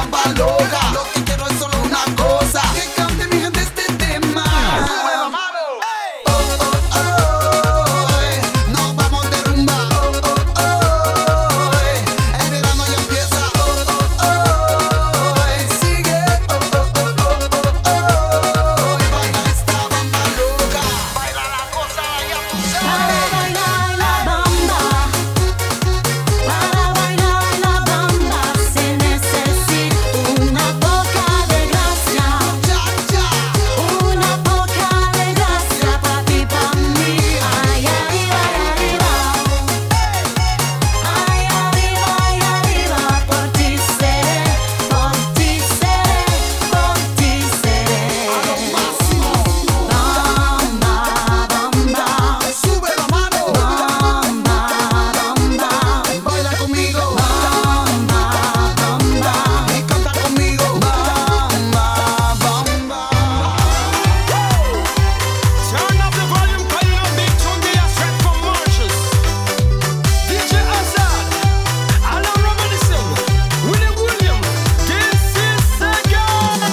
bamba loca. Lo que quiero es solo una cosa, que cante mi gente este tema. ¡Sube la mano! Oh, oh, oh, nos vamos de rumba. Oh, oh, oh, el verano ya empieza. Oh, oh, oh, sigue. Oh, oh, oh, oh, oh, y baila esta bamba loca. Baila la cosa, ya tú sabes. Para bailar la bamba, para bailar la bamba se necesita una poca de gracia, Cha, cha. una poca de gracia pa' ti, pa' mí. Ay, arriba, ay, arriba, por ti seré, por ti seré, por ti seré. A lo máximo. Bamba, bamba. Sube la mano. Bamba, bamba, Baila conmigo. bamba, bamba. Y canta conmigo. Bamba, bamba. Turn up the volume, cause you know big tune they are straight from Mauritius. DJ Azad, Alan Robinson, Willie Williams, this is Sega.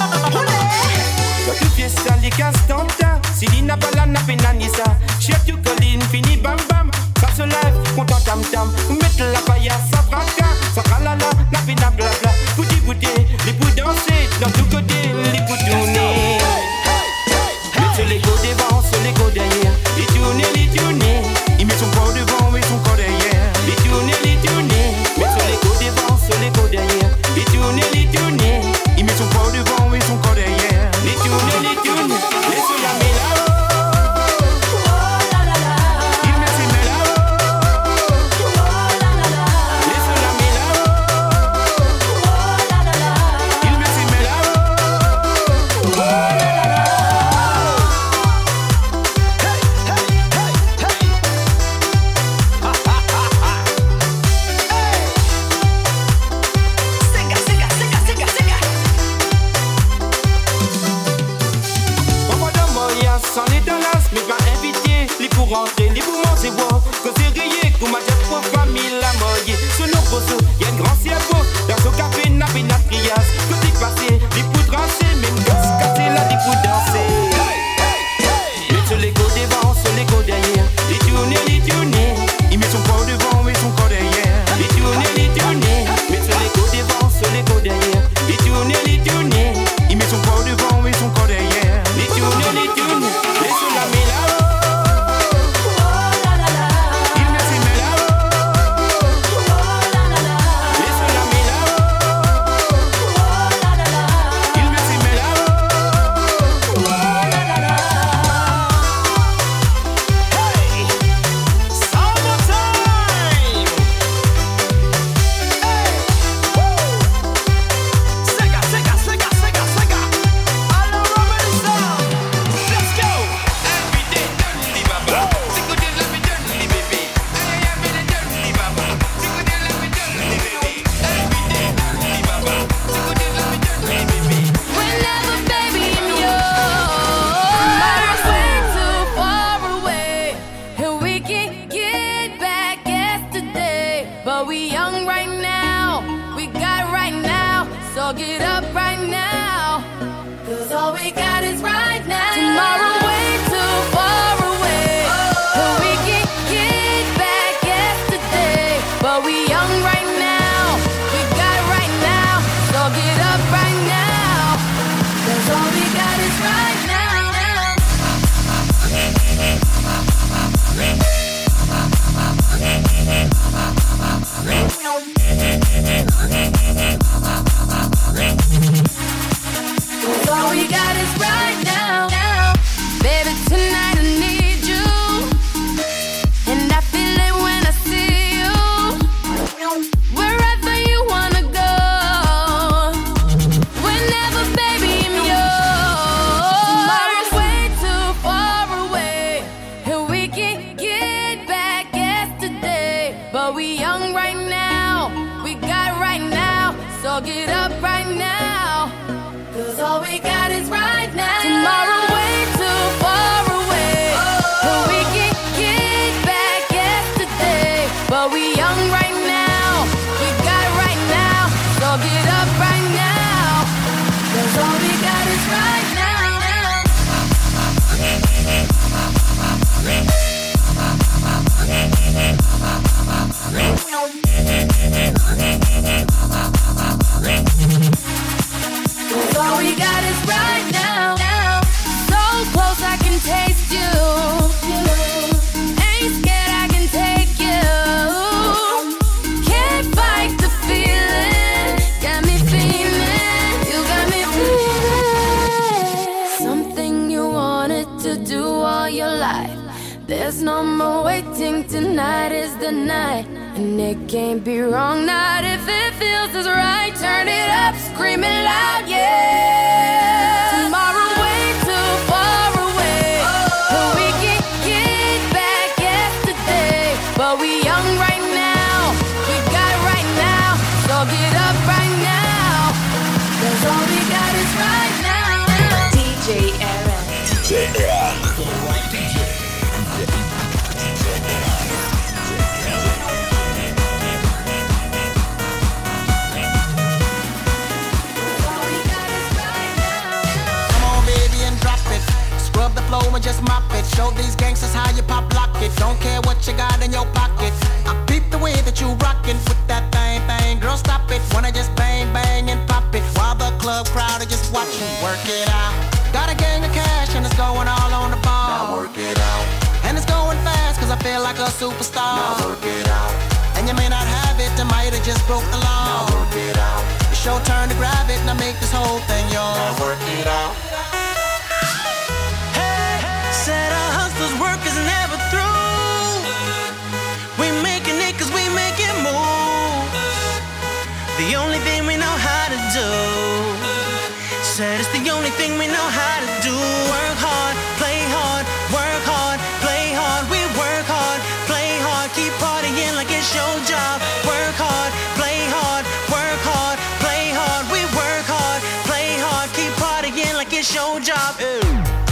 Yo tu fiesta li castanta, Silina balana penanisa, chef tu colline fini bam bam, passe live, content tam tam, mettre la paille sa fracas, sa kalala, la pina blabla, bouti bouti, les pour danser, dans tout côté, les pour tourner. Sur les go devant, sur les go derrière, les tourner, il met son corps devant et son corps derrière, les tourner, mais sur les go devant, sur les go derrière, les tourner, il met son corps devant et son corps derrière, les tourner, les sur la méla, il met ses méla, les sur la méla, il met ses méla. Papa de Moya, s'en est dans l'as, mais pas invité. Les pour rentrer, les pour manger, wow. Que c'est rayé, qu'on m'a dit pour famille la moye. Sur nos poseaux, y'a un grand cerveau. Dans son café, n'a pas une trias. Côté passé, les pour trancher, même gosse cassé, là, les pour danser. Mais sur les go devant, sur les go derrière. Les tourner. Il met son corps devant et son corps derrière. Les tourner. Mais sur les go devant, sur les go derrière. Les tourner. Il met son corps devant et son corps derrière. Les tourner. Les sur la méla. Il met ses méla. Les sur la méla. Il met ses méla. Hey, summertime. Hey, woo. Sega. Alan Robinson, let's go. Every day, dirty baba. C'est que Dieu l'a fait dirty, bébé. Aïe, aïe, mais le dirty baba. C'est que Dieu l'a fait dirty, bébé. Every day, dirty baba. C'est que Dieu l'a fait dirty, bébé. Whenever, baby, I'm yours, way too far away, and we can get back yesterday. But we young right now, we got right now, so get up right now, 'cause all we got is right now. Tomorrow way too far away, and we can get back yesterday. But we young right now, we got right now, so get up right now. 'Cause all we got is right now. All we got is right now. Baby, tonight I need you, and I feel it when I see you. Wherever you wanna go, whenever, baby, I'm yours. Tomorrow's way too far away, and we can get back yesterday. But we young right now, we got right now, so get up right now. 'Cause all we got is right now. Tomorrow way too far away, and we can get back yesterday. But we young right now, we got right now, so get up right now. There's no more waiting, tonight is the night. And it can't be wrong, not if it feels as right. Turn it up, screaming loud, yeah. Tomorrow way too far away, but we can get back yesterday. But we young right now, we got it right now. So get up right now, 'cause all we got is right now. DJ Aaron. DJ Aaron. Scrub the flow and just mop it. Show these gangsters how you pop lock it. Don't care what you got in your pocket. I peep the way that you rockin' with that thing. Girl, stop it. Wanna just bang, bang and pop it. While the club crowd are just watching. Work it out. Got a gang of cash and it's going all on the ball. Now work it out. And it's going fast 'cause I feel like a superstar. Now work it out. And you may not have it, I might have just broke the law. Now work it out. It's your turn to grab it and I make this whole thing yours. Now work it out. Said our hustlers' work is never through. We making it 'cause we making moves. The only thing we know how to do. Said it's the only thing we know how to do. Work hard, play hard, work hard, play hard. We work hard, play hard, keep partying like it's your job. Work hard, play hard, work hard, play hard. We work hard, play hard, keep partying like it's your job. Ew.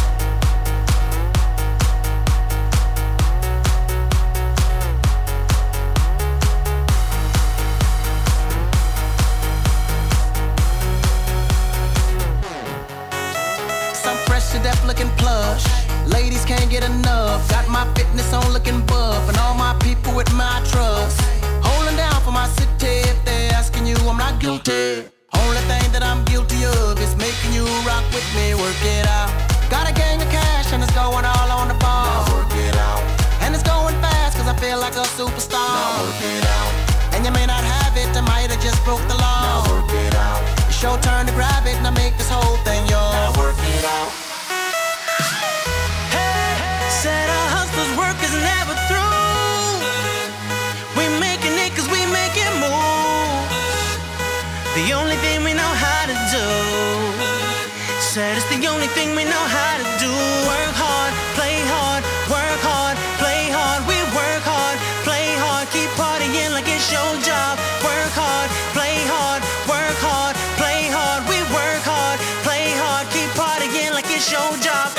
To death looking plush. Ladies can't get enough. Got my fitness on looking buff. And all my people with my trust. Holding down for my city. If they're asking you, I'm not guilty. Only thing that I'm guilty of is making you rock with me. Work it out. Got a gang of cash and it's going all on the ball. Now work it out. And it's going fast 'cause I feel like a superstar. Now work it out. And you may not have it, I might have just broke the law. Now work it out. It's your turn to grab it and I make this whole thing yours. Now work it out. Said our hustlers' work is never through. We making it 'cause we making moves. The only thing we know how to do. Said it's the only thing we know how to do. Work hard, play hard, work hard, play hard. We work hard, play hard, keep partying like it's your job. Work hard, play hard, work hard, play hard. We work hard, play hard, keep partying like it's your job.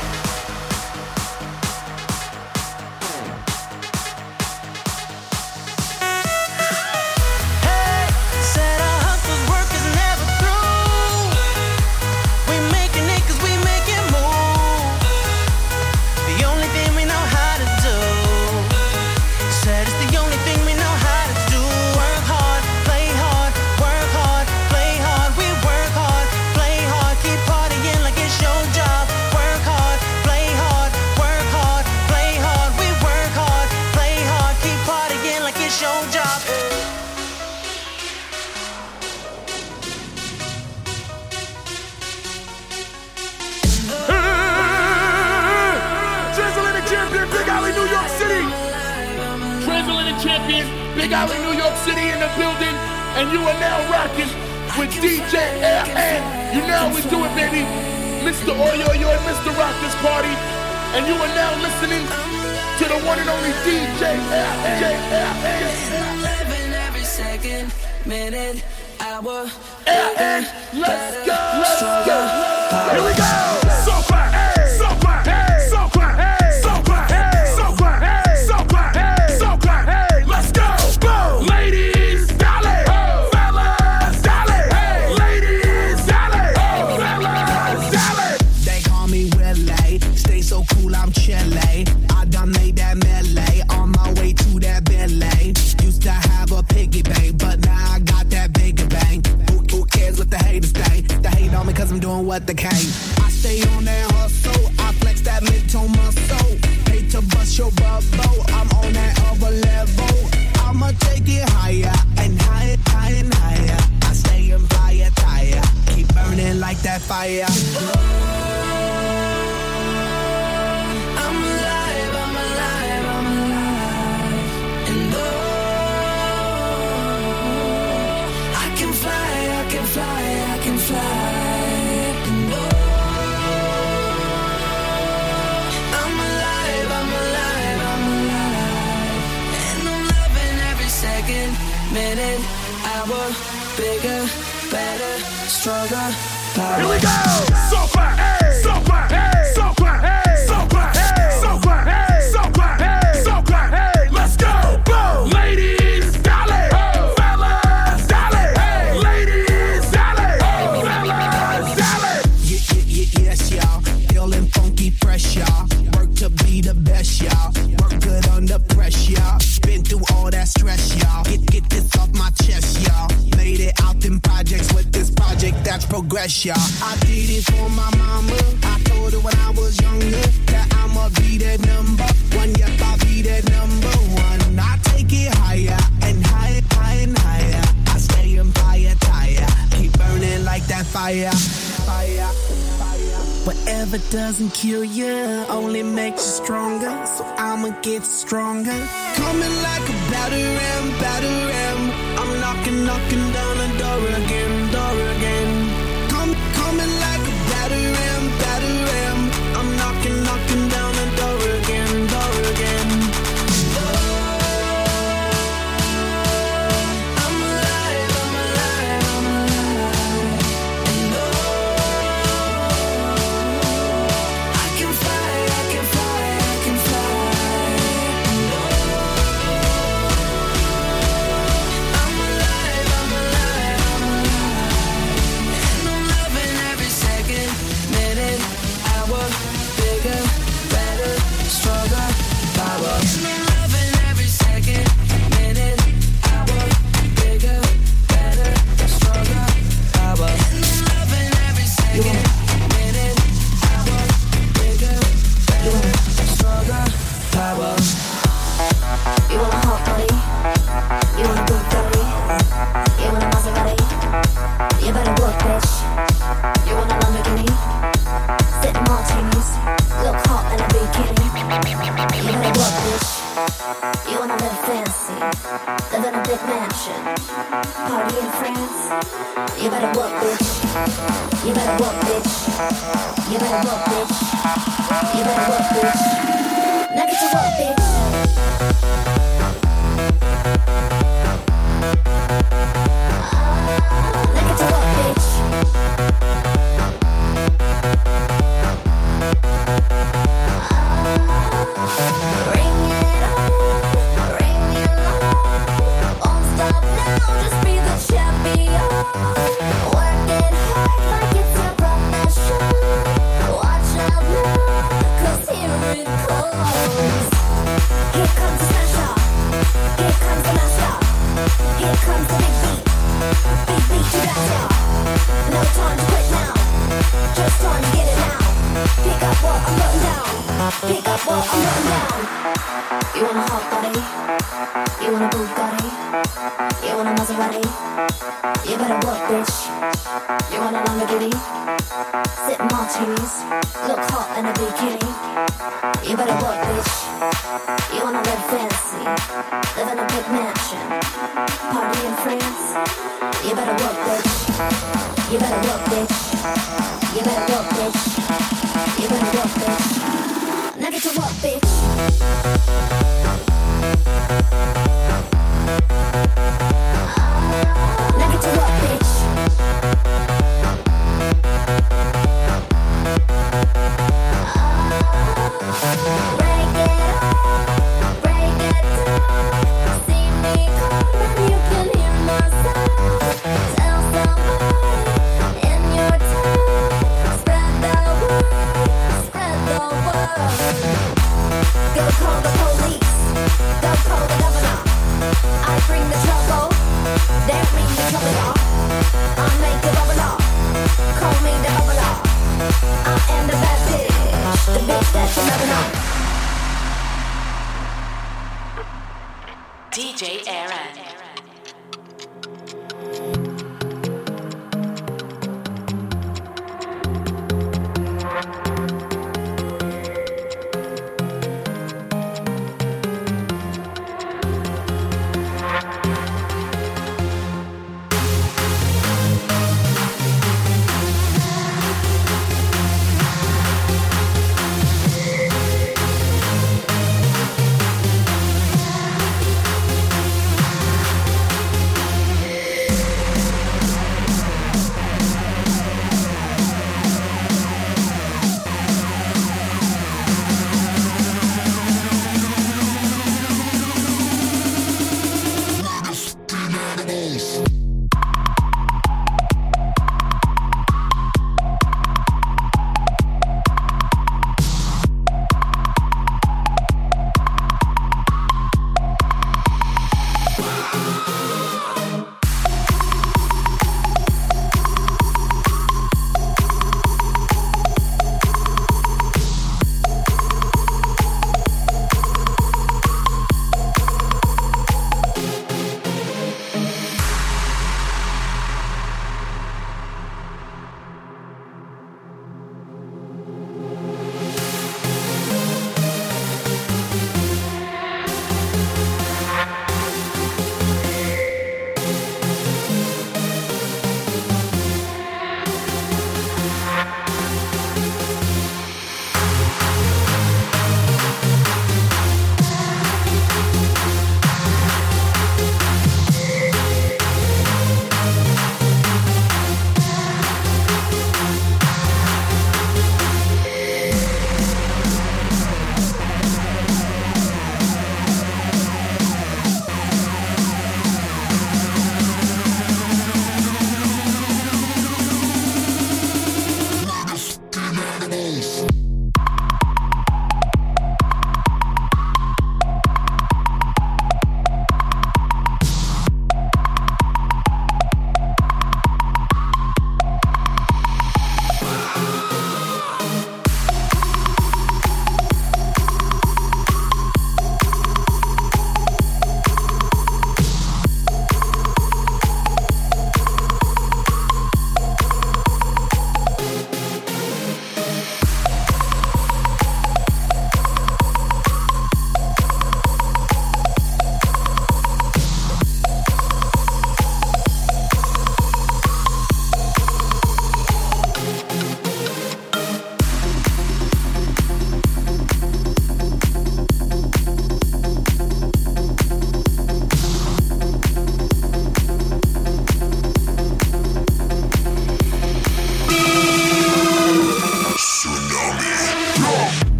Big Alley, New York City in the building, and you are now rocking with DJ Aaron. You know we do it, baby. Mr. Oyo and Mr. Rock this party, and you are now listening to the one and only DJ Aaron. Living every second, minute, hour, Aaron, let's go. Here we go. So clap, so clap, so clap, so clap, so clap, so clap, so clap. Let's go. Ladies, dale. Fellas, dale. Ladies, dale. Fellas, dale. They call me Willie. Stay so cool, I'm chilly. I done made that melee on my way to that Bentley. Used to have a piggy bank, but now I got that bigger bank. Who cares what the haters think? They hate on me 'cause I'm doing what they can. I stay on that hustle. I flex that mid-tone muscle. Pay to bust your bubble. I'm on that other level. I'ma take it higher and higher, higher and higher. I stay in fire tire. Keep burning like that fire. I'm alive, I'm alive. bigger, better, stronger, power. Here we go! So clap, hey! So clap, hey! So clap, hey! So clap, hey! So clap, hey! So clap, hey! So clap, hey! Let's go! Boom! Ladies, dale! Oh. Fellas, dale! Hey! Ladies, dale! Oh. Fellas, dale! Yes, y'all. Feeling funky, fresh, y'all. Work to be the best, y'all. Work good under pressure, y'all. Been through all that stress, y'all. Get this off my chest, y'all. Made it out them projects with this project that's progress, y'all. I did it for my mama. I told her when I was younger that I'ma be that number one. Yep, I'll be that number one. I take it higher and higher, higher and higher. I stay on fire, tire. Keep burning like that fire, fire. Whatever doesn't kill you only makes you stronger. So I'ma get stronger. Coming like a batter ram. I'm knocking down the door again, door again. Coming like a batter ram. I'm knocking down the door again, door again. I'm alive. And I can fly. I'm alive. And I'm loving every second, minute, hour, bigger, better, stronger, power. And I'm loving every second, minute, hour, bigger, better, stronger, power. And I'm loving every second, minute, hour, bigger, better, stronger, power. You want a hot body? You want a Bugatti? You want a Maserati? You better work, bitch. You want a Lamborghini? Sip martinis, look hot in a bikini. You better work, bitch. You wanna live fancy, live in a big mansion, party in France. You better work, bitch. You better work, bitch. You better work, bitch. You better work, bitch. Now get to work, bitch. Now get to work, bitch. Bring it on, won't stop now, just be the champion. Work it hard like it's your profession. Watch out now, 'cause here it comes. Here comes the smash up, here comes the master, here comes the big beat to dance up. No time to quit now, just time to get it now. Pick up what I'm putting down, pick up what I'm putting down. You want a hot body, you want a Bugatti, you want a Maserati. You better work, bitch. You want a Lamborghini, sip martinis, look hot in a bikini. You better work, bitch. You wanna live fancy, live in a big mansion, party in France. You better work, bitch. You better work, bitch. You better work, bitch. You better work, bitch. Now get to work, bitch. Now get to work, bitch. Break it up, break it down. See me coming, you can hear my sound. Tell somebody in your town. Spread the word, spread the word. Go call the police, go call the governor. I bring the trouble.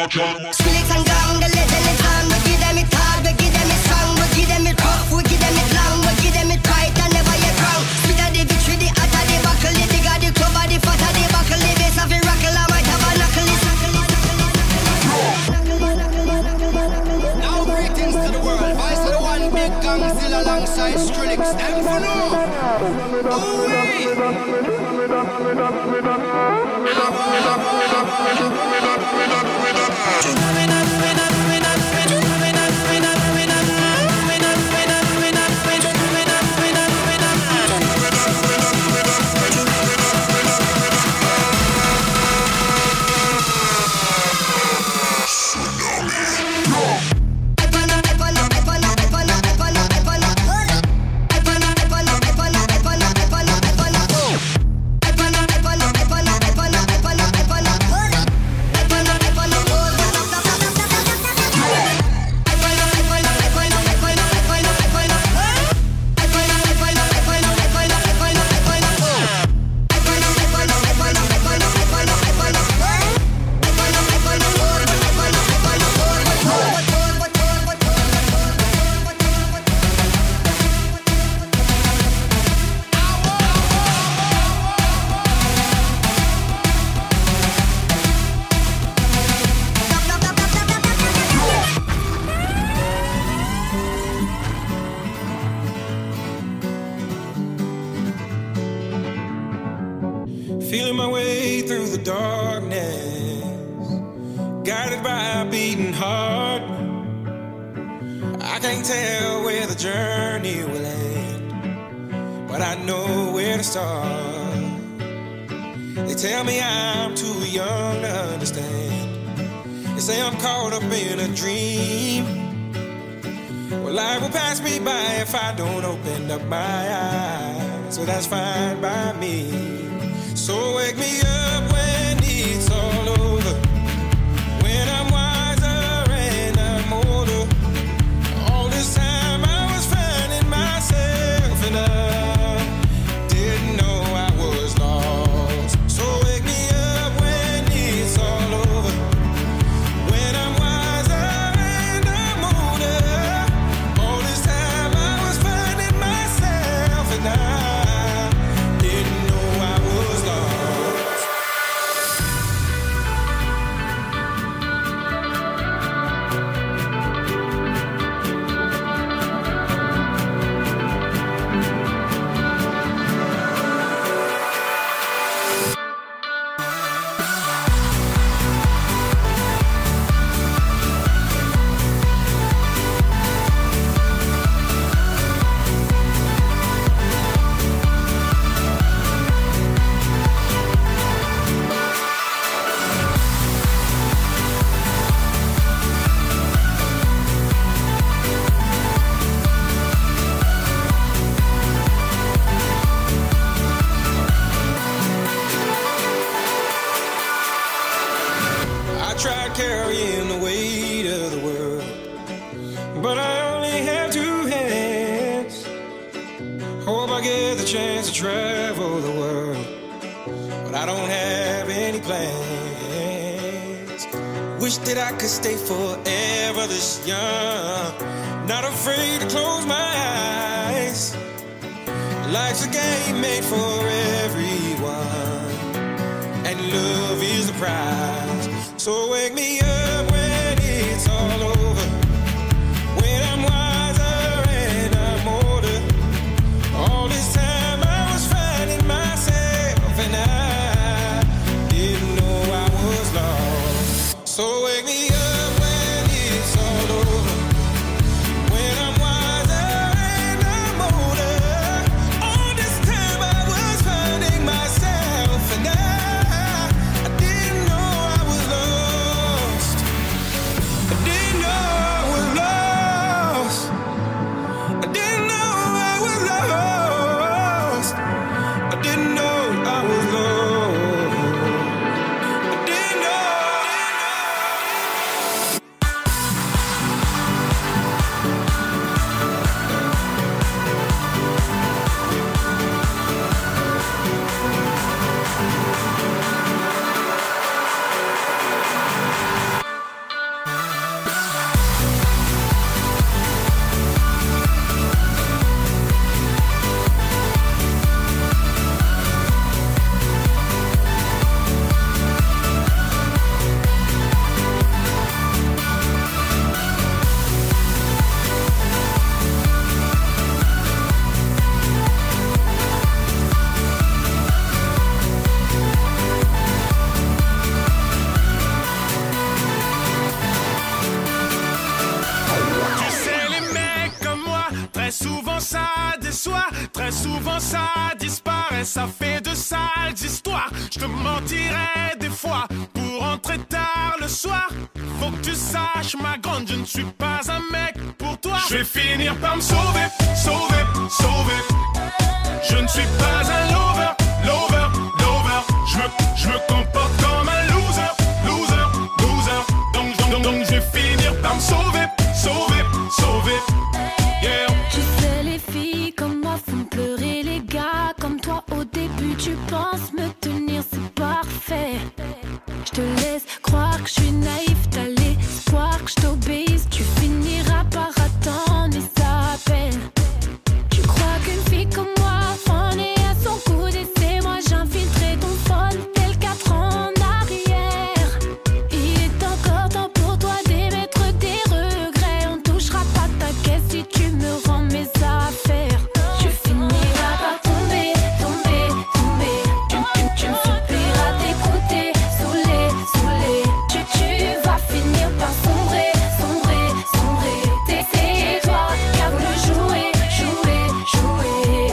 Skrillex and gang, the legend is on. We give them it hard, we give them it strong. We give them it rough, we give them it long. We give them it right and never yet wrong. Sweet of the victory, the hot of the buckle. The bigger the cover, the fat of the buckle. The bass of the rockle, I might have a knuckle. Now greetings to the world. Vice of the one big gang still alongside Skrillex. Them for no. Feeling my way through the darkness, guided by a beating heart. I can't tell where the journey will end, but I know where to start. They tell me I'm too young to understand. They say I'm caught up in a dream. Well, life will pass me by if I don't open up my eyes. So that's fine by me. So wake me up when it's all over, when I'm wiser and I'm older. All this time I was finding myself and I didn't know I was lost. So wake me up when it's all over, when I'm wiser and I'm older. All this time I was finding myself and I didn't know I was lost. I tried carrying the weight of the world, but I only have two hands. Hope I get the chance to travel the world, but I don't have any plans. Wish that I could stay forever this young, not afraid to close my eyes. Life's a game made for everyone, and love is the prize. So wake me up when it's all over, when I'm wiser and I'm older. All this time I was finding myself and I didn't know I was lost. So wake me up when it's all over, when I'm wiser and I'm older. All this time I was finding myself and I didn't know I was lost. souvent ça disparaît, ça fait de sales histoires. Je te mentirais des fois pour rentrer tard le soir. Faut que tu saches, ma grande, je ne suis pas un mec pour toi. Je vais finir par me sauver, sauver, sauver. Je ne suis pas un lover, lover, lover. Je me comporte comme un loser, loser, loser. Donc je vais finir par me sauver, sauver, sauver. Yeah. Tu sais, les filles comme moi font pleurer les gars comme toi. Au début, tu penses me tenir, c'est parfait. Je te laisse croire que je suis naïf, t'as l'espoir que je t'obéisse. Tu finiras par attendre et ça peine. Tu crois qu'une fille comme moi en est à son coup d'essai. Moi j'infiltrerai ton phone tel 4 ans en arrière. Il est encore temps pour toi d'émettre des regrets. On touchera pas ta caisse si tu me rends mes affaires. Tu finiras par tomber, tomber, tomber. Tu me supplieras d'écouter, saoulé, saoulé. Tu vas finir par sombrer, sombrer, sombrer. C'est toi qui as voulu jouer, jouer, jouer.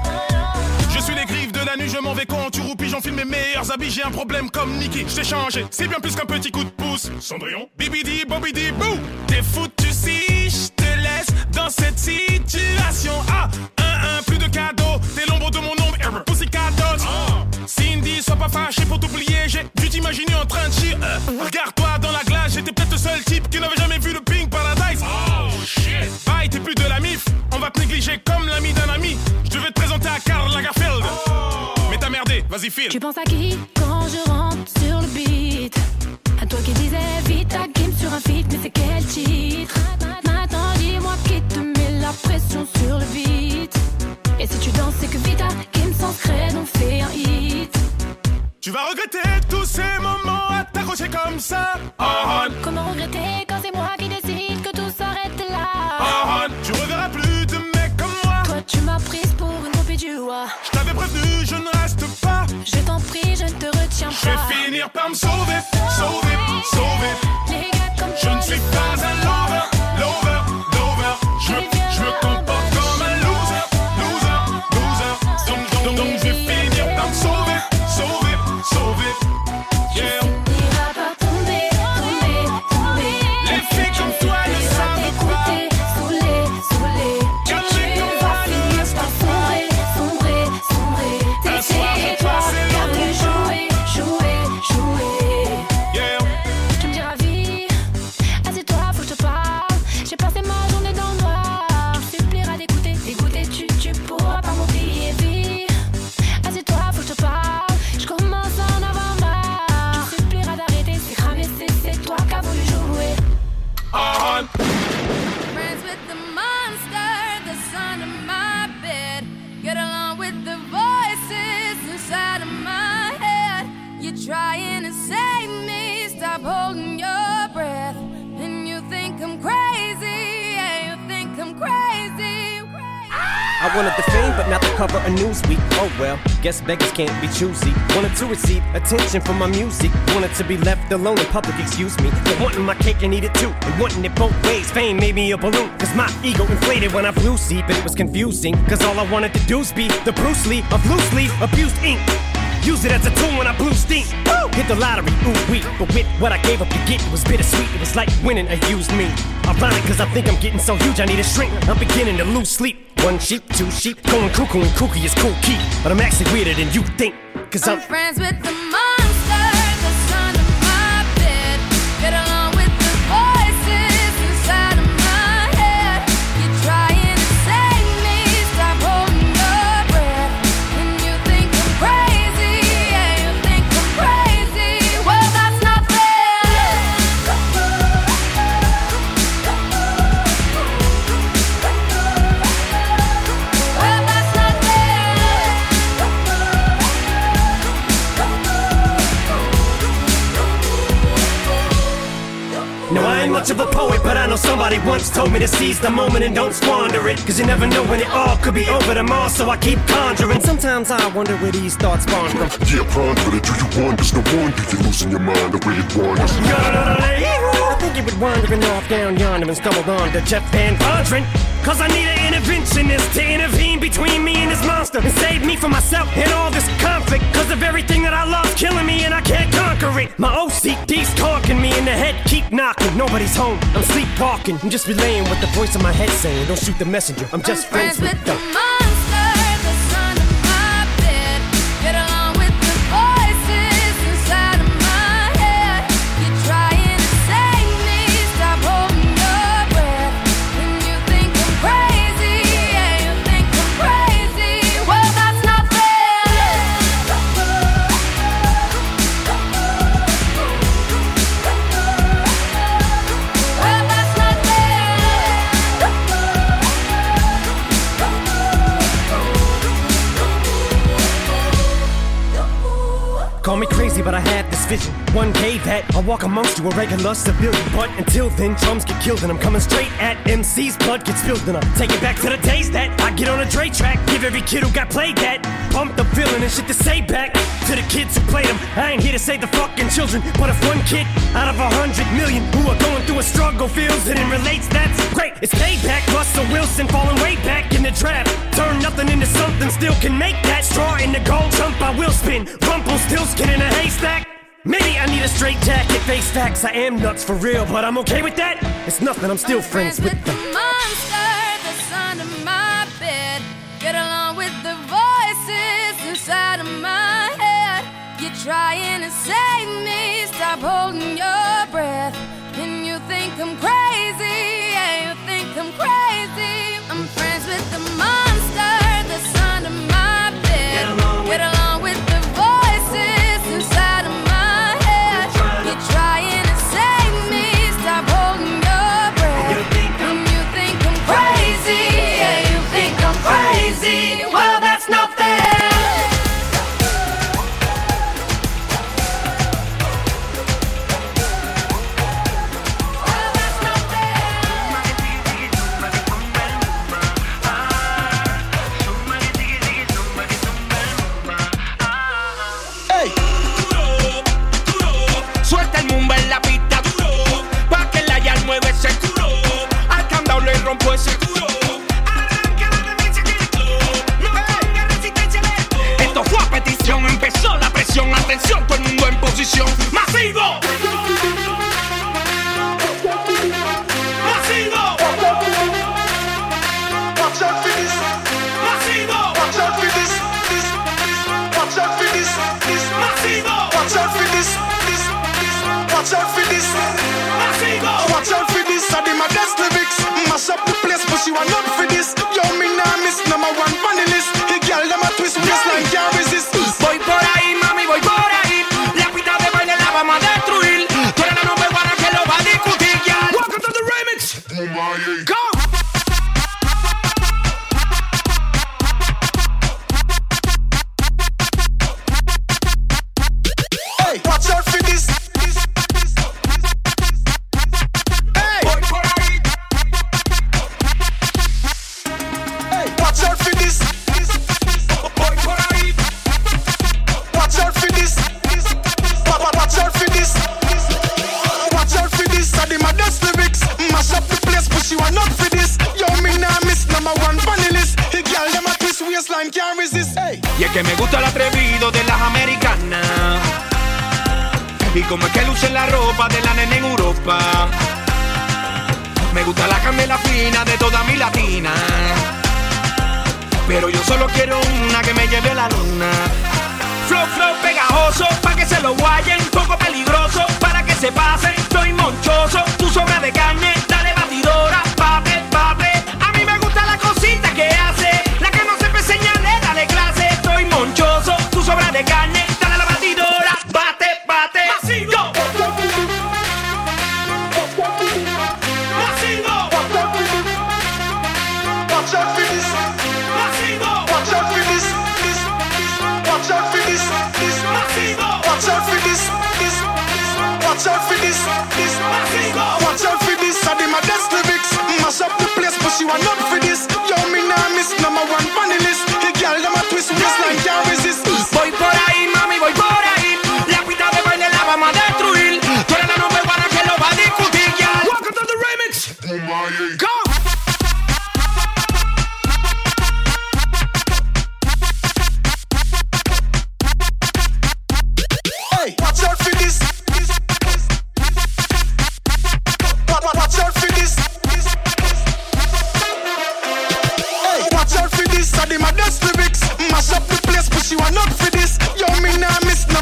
Je suis les griffes de la nuit, je m'en vais quand tu roupis, j'enfile mes meilleurs habits, j'ai un problème comme Nicky, je t'ai changé, c'est bien plus qu'un petit coup de pouce. Cendrillon, bibidi, bobidi, bou. T'es foutu si je te laisse dans cette situation. Ah, plus de cadeaux, t'es l'ombre de mon ombre, Pussycat Dolls. Cindy, sois pas fâché pour t'oublier, j'ai dû t'imaginer en train de chier. Regarde-toi dans la glace, j'étais peut-être le seul type qui n'avait jamais vu le Pink Paradise. Oh shit. Bye, t'es plus de la mif, on va te négliger comme l'ami d'un ami. Je devais te présenter à Karl Lagerfeld. Mais t'as merdé, vas-y file. Tu penses à qui quand je rentre sur le beat? À toi qui disais vite ta game sur un feat, mais c'est quel titre? Maintenant dis-moi qui te met la pression sur le beat. Et si tu danses c'est que Vita game sans crête on fait un hit. Tu vas regretter tous ces moments à t'accrocher comme ça. Comment regretter quand c'est moi qui décide que tout s'arrête là? Tu reverras plus de mecs comme moi. Toi tu m'as prise pour une copie du roi. Je t'avais prévenu, je ne reste pas. Je t'en prie, je ne te retiens Je vais pas. finir par me sauver, sauver, sauver. Les gars comme Je toi, ne suis pas un lover, lover, lover. Je me comporte comme un loser, loser, loser. Donc je vais finir par me sauver, sauver, sauver. Yeah. finiras par tomber, tomber, tomber. Les filles comme toi ne savent pas. Saoulé, saoulé. Tu vas finir par sombrer, sombrer, sombrer. Un soir, C'est j'ai toi passé qui as le voulu jouer, jouer, jouer. Yeah. Tu me diras vie, assieds-toi, faut que je te parle. J'ai passé ma journée dans le noir. Tu me supplieras d'écouter, d'écouter, tu pourras pas m'oublier vie. Assieds-toi, faut que je te parle. Je commence à en avoir marre. Tu me supplieras d'arrêter, c'est cramé, c'est toi qui as voulu jouer. Friends with the monster that's under my bed. Get along with the voices inside of my head. You're trying to save me, stop holding your breath. And you think I'm crazy, yeah, you think I'm crazy. I wanted the fame, but not the cover of Newsweek. Oh well, guess beggars can't be choosy. Wanted to receive attention from my music. Wanted to be left alone in public, excuse me. But wanting my cake and eat it too. And wanting it both ways. Fame made me a balloon. Cause my ego inflated when I flew see. But it was confusing. Cause all I wanted to do was be the Bruce Lee of loosely abused ink. Use it as a tool when I blew steam. Woo! Hit the lottery, ooh wee. But with what I gave up to get, it was bittersweet. It was like winning a used me. Ironic, cause I think I'm getting so huge I need a shrink. I'm beginning to lose sleep. One sheep, two sheep, going cuckoo and kooky is cool key. But I'm actually weirder than you think. Cause I'm friends with the monster that's under my bed. Get along with the voices inside of my head. You're trying to save me, stop holding your breath. And you think I'm crazy, yeah, you think I'm crazy. Well, that's not fair. Well, that's not fair. No, I ain't much of a poet, but I know somebody once told me to seize the moment and don't squander it. Cause you never know when it all could be over tomorrow, so I keep conjuring. Sometimes I wonder where these thoughts spawn from. Yeah, ponder it, do you wonder? No wonder you're losing your mind the way it wanders. think he would wandering off down yonder and stumbled on to Jeff Van Vondren. Cause I need an interventionist to intervene between me and this monster and save me from myself and all this conflict. Cause of everything that I love's killing me and I can't conquer it. My OCD's talking me in the head, keep knocking. Nobody's home, I'm sleepwalking. I'm just relaying what the voice in my head saying. Don't shoot the messenger, I'm just friends with the monster that's under my bed. Get along with the voices inside of my head. You're trying to save me, stop holding your breath. And you think I'm crazy, yeah, you think I'm crazy. Well, that's not fair. Well, that's not Call me crazy, but I had this vision. One day that I'll walk amongst you, a regular civilian. But until then, drums get killed and I'm coming straight at MC's blood gets spilled. And I'm taking back to the days that I get on a Dre track. Give every kid who got played that pumped up feeling and shit to say back to the kids who played them. I ain't here to save the fucking children, but if one kid out of 100 million who are going through a struggle feels it and relates, that's great. It's payback. Russell Wilson falling way back in the draft. Turn nothing into something, still can make that. Straw in the gold jump, I will spin. Rumpelstiltskin in a haystack. Maybe I need a straight jacket, face facts. I am nuts for real, but I'm okay with that. It's nothing, I'm still friends with the monster that's under my bed. Get along with the voices inside of my head. You're trying to save me, stop holding your breath. And you think I'm crazy, yeah, you think I'm crazy. I'm friends with the monster that's under my bed. Get along with the voices inside of my head. You're trying to save me, stop holding your breath. And you think I'm crazy, yeah, you think I'm crazy. Well, that's not fair. Suelta el mumba en la pista duro, pa' que la yal mueve ese culo. Al candado le rompo ese culo. Arranca la demencia que el club, no me ponga resistencia al esto. Esto fue a petición, empezó la presión. Atención, todo el mundo en posición. ¡Masivo! ¡Masivo! Watch out for this. ¡Masivo! Watch out for this. Watch out for this. ¡Masivo! Watch out for this. Watch out for this. Watch out for this. I did my best lyrics. Mash up the place, but she want up for this. Yo, me nah miss number one funny list. The girl them a twist waistline can't resist. Voy por ahí, mami, voy por ahí. La pista de baile la vamos a destruir. Tú eres la nube guana que lo va a discutir, ya. Welcome to the remix. Go. Hey, watch out for this. Voy por ahí. Hey, watch out for this. Voy por ahí. Watch out for this. Watch out for this. Watch out for this. I did my best lyrics. Mash up the place, but she want up for this. Yo, me nah miss number one funny list. The girl them a twist waistline can't resist. Hey. Y es que me gusta el atrevido de las americanas. Y como es que luce la ropa de la nena en Europa. Me gusta la candela fina de toda mi latina. Pero yo solo quiero una que me lleve a la luna. Flow, flow pegajoso, pa' que se lo guayen. Poco peligroso, para que se pasen. Estoy monchoso, tu sobra de carne. Dale batidora, bate, bate. A mí me gusta la cosita que hace. La que no sepa enseñarle, dale clase. Estoy monchoso, tu sobra de carne. Dale a la batidora, bate, bate. Masivo. Masivo. Watch out for this. Masivo. Watch out for this. Watch out for this. Watch out for this. Watch out for this. Watch out for this. I did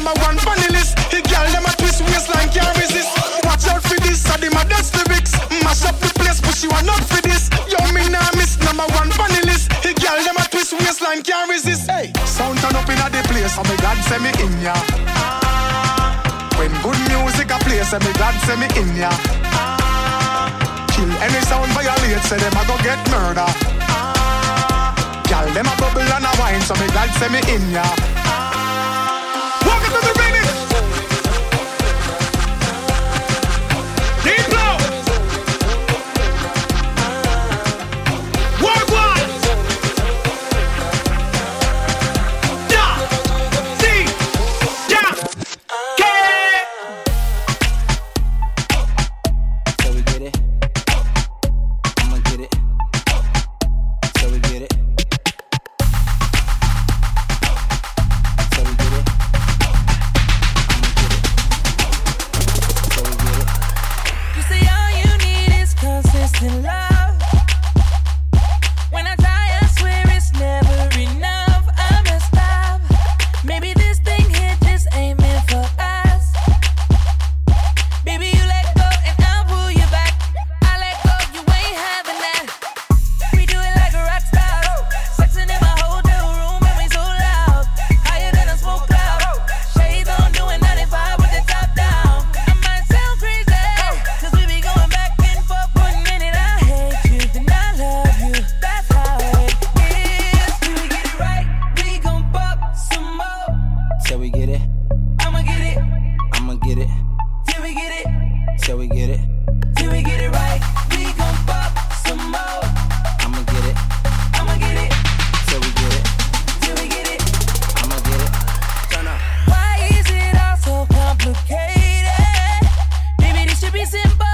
number one funny list. The girl them a twist waistline can't resist. Watch out for this, so them a dust lyrics. Mash up the place, but she want not for this. Yo, me nah miss number one funny list. The girl them a twist waistline can't resist. Hey, sound turn up inna the place, so me glad say me in ya. When good music a play, say me glad say me in ya. Kill any sound violate, say them a go get murder. Girl them a bubble and a wine, so me glad say me in ya. Welcome to the remix. Deep blow. Work one. Da. D. Da. K. So we get it. I'ma get it. So we get it. So we get it. I'ma get it. So we get it. You say all you need is consistent love. When I try, I swear it's never enough. I messed up. Maybe this thing here just ain't meant for us. Baby, you let go and I'll pull you back. I let go, you ain't having that. We do it like a rock star. Sexing in my hotel room and we so loud. Higher than a smoke cloud. Shades on, doing 95 with the top down. I might sound crazy, cause we be going back and forth. 1 minute I hate you, then I love you. That's how it is. Till we get it right, we gon' pop some more. So we get it. I'ma get it, I'ma get it. till we get it. So we get it. Till we get it right, we gon' pop some more. I'ma get it. I'ma get it, So we get it. till we get it. I'ma get it. Turn up. Why is it all so complicated? Maybe this should be simple.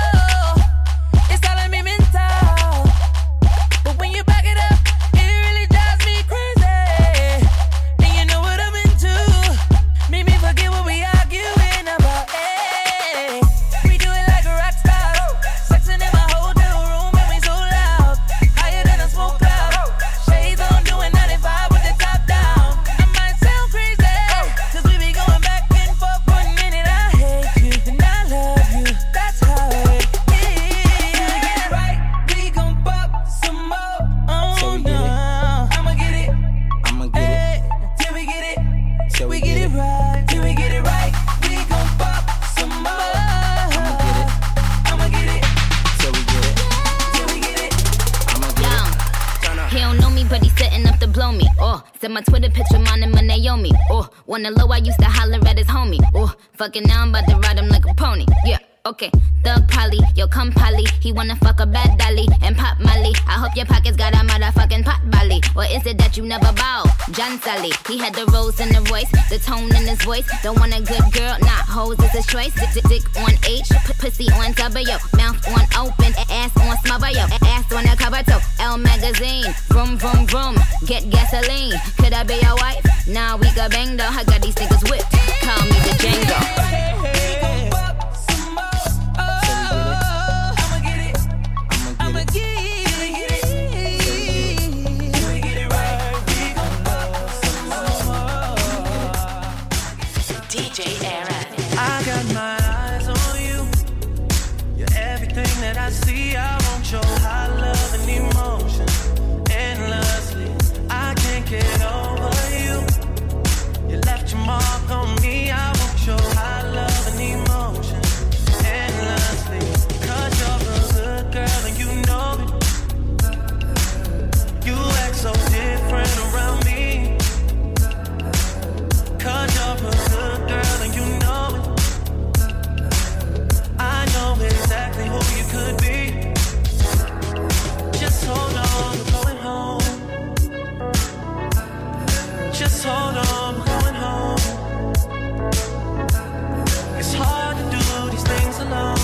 It's all in me mental. But when you back it up, it really drives me crazy. And you know what I'm into. Made me forget what we arguing about. Hey, we do it like a rock star. Sexing in my hotel room and we so loud. Higher than a smoke cloud. Shades on, doing 95 with the top down. I might sound crazy, cause we be going back and forth. 1 minute I hate you, then I love you. That's how it is. Till we get it right, we gon' pop some more. So Oh we get it. no, I'ma get it. I'ma get it. Hey, till we get it. So We get it right, till we get it right, we gon' pop some more. I'ma get it. I'ma get it, So we get it. till we get it. I'ma get it. Turn up. He don't know me, but he's setting up to blow me. Oh, said my Twitter picture, mine and my Naomi. Oh, on the low, I used to holler at his homie. Oh, fucking now I'm about to ride him like a pony. Yeah, okay. Thug Polly, yo, come Polly. He wanna fuck a bad dolly and pop Molly. I hope your pockets got a motherfucking pot belly. Or is it that you never bow? John Sally, he had the rose in the voice, the tone in his voice. Don't want a good girl, not hoes, it's his choice. Dick on H, pussy on W, mouth on open, ass on smother, yo, ass on the cover toe. L magazine, vroom vroom vroom, get gasoline. Could I be your wife? Nah, we got bang though. I got these niggas whipped. Call me the Django. We gon' pop some more. I'ma get it, I'ma get it. till we get it. Till we get it right, we gon' pop some more. DJ Aaron. I got my eyes on you. You're everything that I see. I want your high love and emotion endlessly. I can't get over you. You left your mark on me. I want your high love and emotion endlessly. 'Cause you're a good girl and you know it. You act so different around me. 'Cause you're a good girl and you know it. I know exactly who you could be. Just hold on, we're going home. Just hold on, we're going home. It's hard to do these things alone.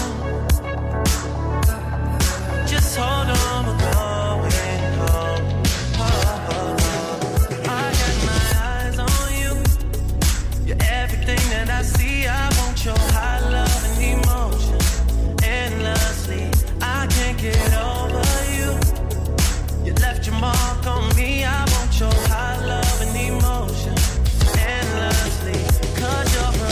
Just hold on, we're going home. I got my eyes on you. You're everything that I see. I want your high love and emotion endlessly. I can't get over you. You left your mark on me. I want your high love and emotion endlessly. 'Cause you're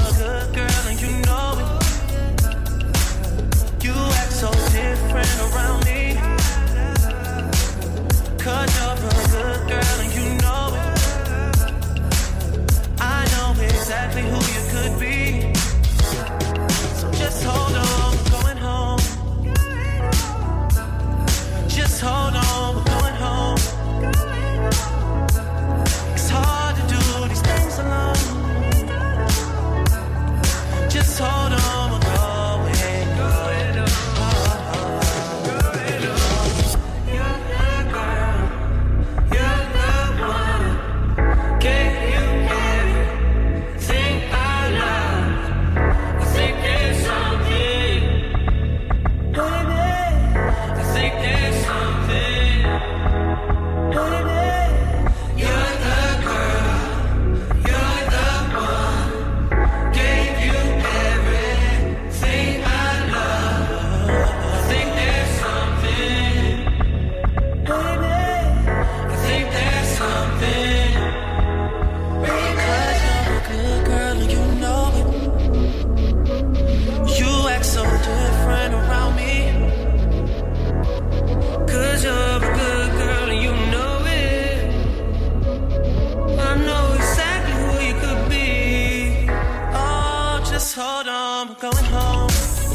we're going home.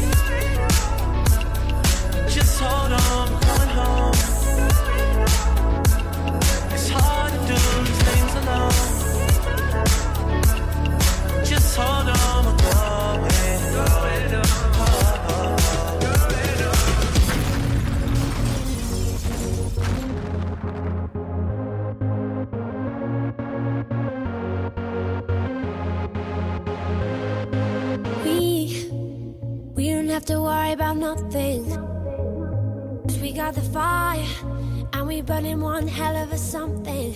Just hold on, we're going home. It's hard to do these things alone. Just hold on, we're going home. We don't have to worry about nothing. 'Cause we got the fire, and we burning one hell of a something.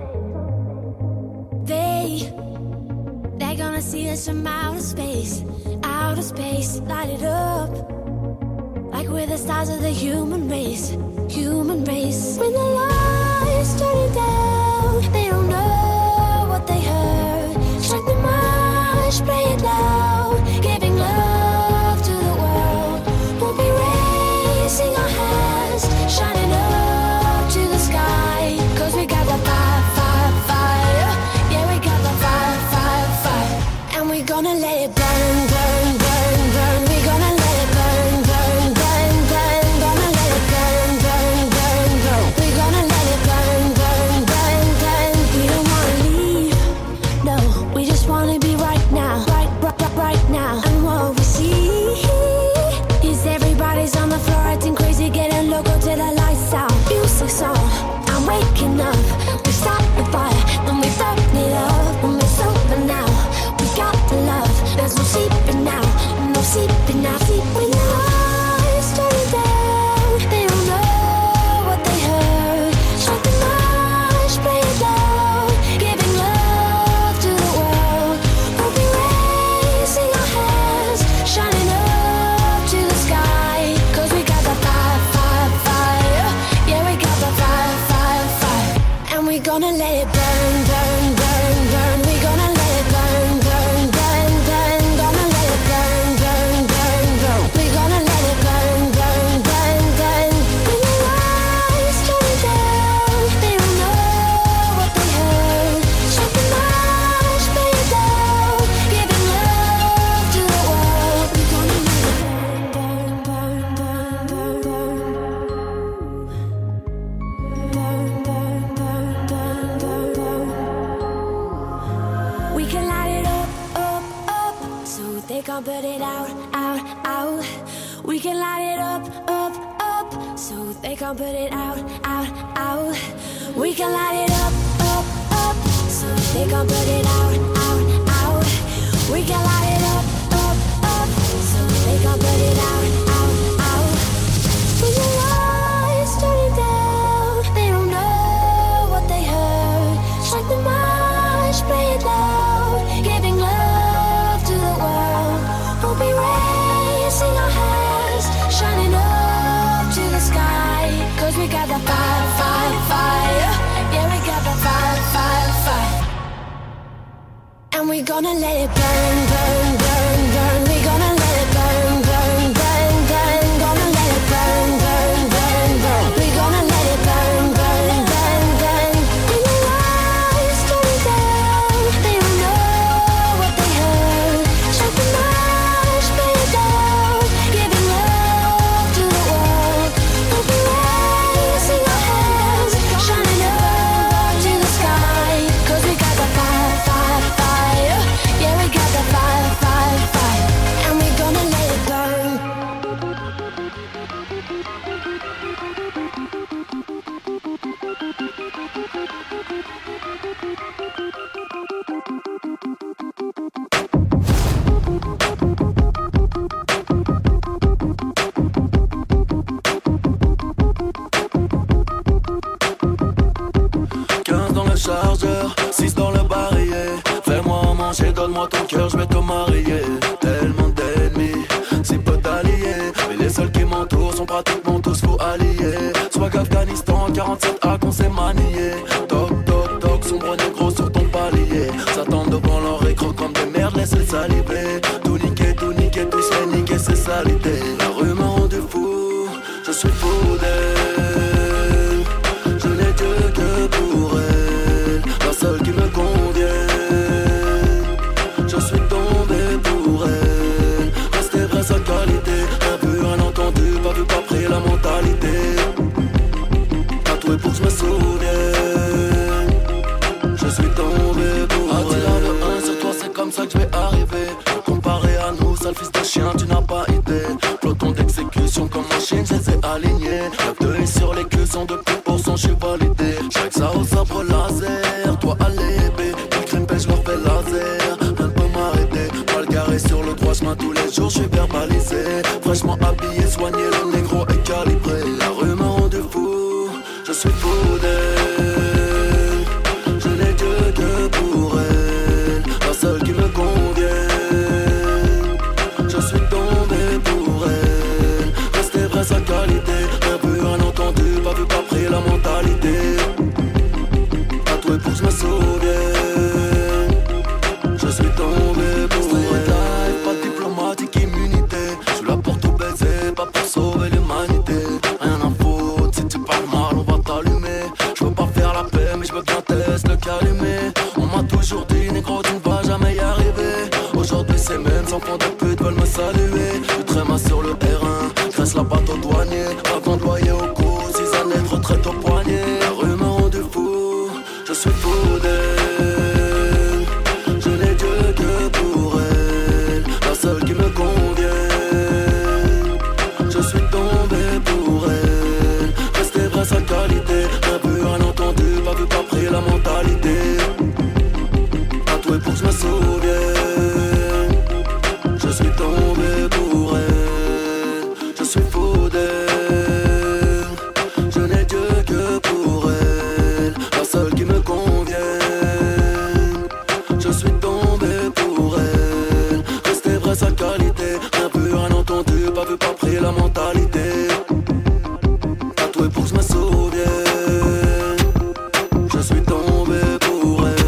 They're gonna see us from outer space, light it up. Like we're the stars of the human race. When the lights turn down, they don't know what they heard. Strike the march, play it loud, giving love to the world. We'll be raising our hands, shining up to the sky. 'Cause we got the fire, fire, fire. Yeah, we got the fire, fire, fire. And we're gonna let it burn, burn, burn, burn. We're gonna let it burn, burn, burn, burn. Gonna let it burn, burn, burn, burn. We're gonna let it burn, burn, burn, burn. We don't wanna leave, no. We just wanna be right now, right now. And what we see is everybody's on the floor acting crazy, getting loco till the lights out. Music's on, I'm waking up. We start the fire, then we burn it up. When it's over now, we got the love. There's no sleeping now, no sleeping now. When the lights turn down, they don't know what they heard. Strike the march, play it loud, giving love to the world. We'll be raising our hands, shining up to the sky. 'Cause we got the fire, fire, fire. Yeah, we got the fire, fire, fire. And we're gonna let it burn, burn, burn, burn. We're gonna let it burn, burn, burn, burn. Gonna let it burn, burn, burn, burn. We're gonna let it burn, burn, burn, burn. When the lights turn down, they don't know what they heard. Strike the march, play it loud, giving love to the world. We're gonna let it burn, burn, burn, burn, burn, burn, burn, burn, burn, burn, burn. We can light it up, up, up, so they can't put it out, out, out. We can light it up, up, up, so they can't put it out, out, out. We can light it up, up, up, so they can't put it out, out, out. We can light it up, up, up, so they can't put it out, out, out. When the lights turn down, they don't know what they heard. Strike the march, play it loud, giving love to the world. We'll be raising our hands, shining up to the sky. 'Cause we got the fire, fire, fire. Yeah, we got the fire, fire, fire. And we're gonna let it burn, burn, burn, burn. We're gonna let it burn, burn, burn, burn. Gonna let it burn, burn, burn, burn. We're gonna let it burn, burn, burn, burn. When the lights turn down, they don't know what they heard. Strike the march, play it loud, giving love to the world. We'll be raising our hands, shining up to the sky. 'Cause we got the fire, fire, fire. Yeah, we got the fire, fire, fire. And we're gonna let it burn. Dans le chargeur, 6 dans le barillet. Fais-moi manger, donne-moi ton cœur, je vais te marier. Tellement d'ennemis, si peu d'alliés, mais les seuls qui m'entourent sont pratiquement tous faux alliés. Swag Afghanistan, 47A qu'on s'est manié. Toc toc toc, sombre négro sur ton palier. S'attendent devant leur écran comme des merdes, laisse-les saliver. Tout niquer, tout se fait niquer, c'est salité. La rue m'a rendu fou, je suis fou d'elle. Je n'ai Dieu que pour elle, la seule qui me convient. Je suis tombé pour elle, sale fils de chien, tu n'as pas idée. Peloton d'exécution comme machine, je les ai alignés. Le 2 sur les cuissons de plus pour son, je suis validé. J'règle ça au sabre laser, toi à l'épée. Le crime pêche, leur fait laser, rien ne peut m'arrêter. Mal garé sur le droit chemin tous les jours, je suis verbalisé. Fraîchement habillé, soigné, le négro est calibré. La rue m'a rendu fou, je suis fou d'elle. Je n'ai Dieu que pour elle, la seule qui me convient. Je suis tombé pour elle, rester vrai sa qualité. Rien vu, rien entendu, pas vu, pas pris la mentalité. Tatoué pour que je me souvienne. Je suis tombé pour elle. Pas de diplomatique, immunité. Je suis là pour tout baiser, pas pour sauver l'humanité. Rien à foutre, si tu parles mal, on va t'allumer. Je veux pas faire la paix, mais je veux bien tester le calumet. On m'a toujours dit, négro, tu ne vas jamais y arriver. Aujourd'hui, ces mêmes enfants de pute veulent me saluer. Je tréma sur le R1, graisse la patte au douanier. Avant de loyer au cou, 6 années de retraite au poignet. La rue m'a rendu fou, je suis fou d'elle. Je n'ai Dieu que pour elle, la seule qui me convient. Je suis tombé pour elle, rester vrai sa qualité. Rien vu, rien entendu, pas vu, pas pris la mentalité. Tatoué pour que je me souvienne. Je suis tombé pour elle, je suis fou d'elle. Je n'ai Dieu que pour elle, la seule qui me convient. Je suis tombé pour elle, rester vrai sa qualité. Rien vu, rien entendu, pas vu, pas pris la mentalité. Tatoué pour que je me souvienne. Je suis tombé pour elle.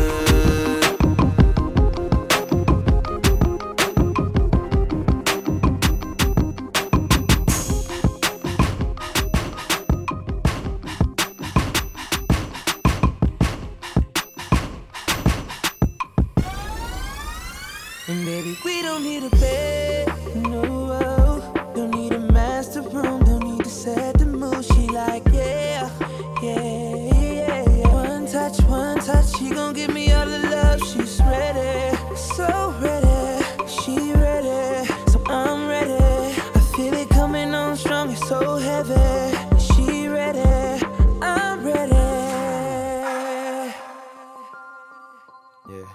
And baby, we don't need a bed, no. Don't need a master room, don't need to set the mood. She like, yeah, yeah, yeah, yeah. One touch, she gon' give me all the love. She's ready, so ready. She ready, so I'm ready. I feel it coming on strong, it's so heavy. She ready, I'm ready. Yeah.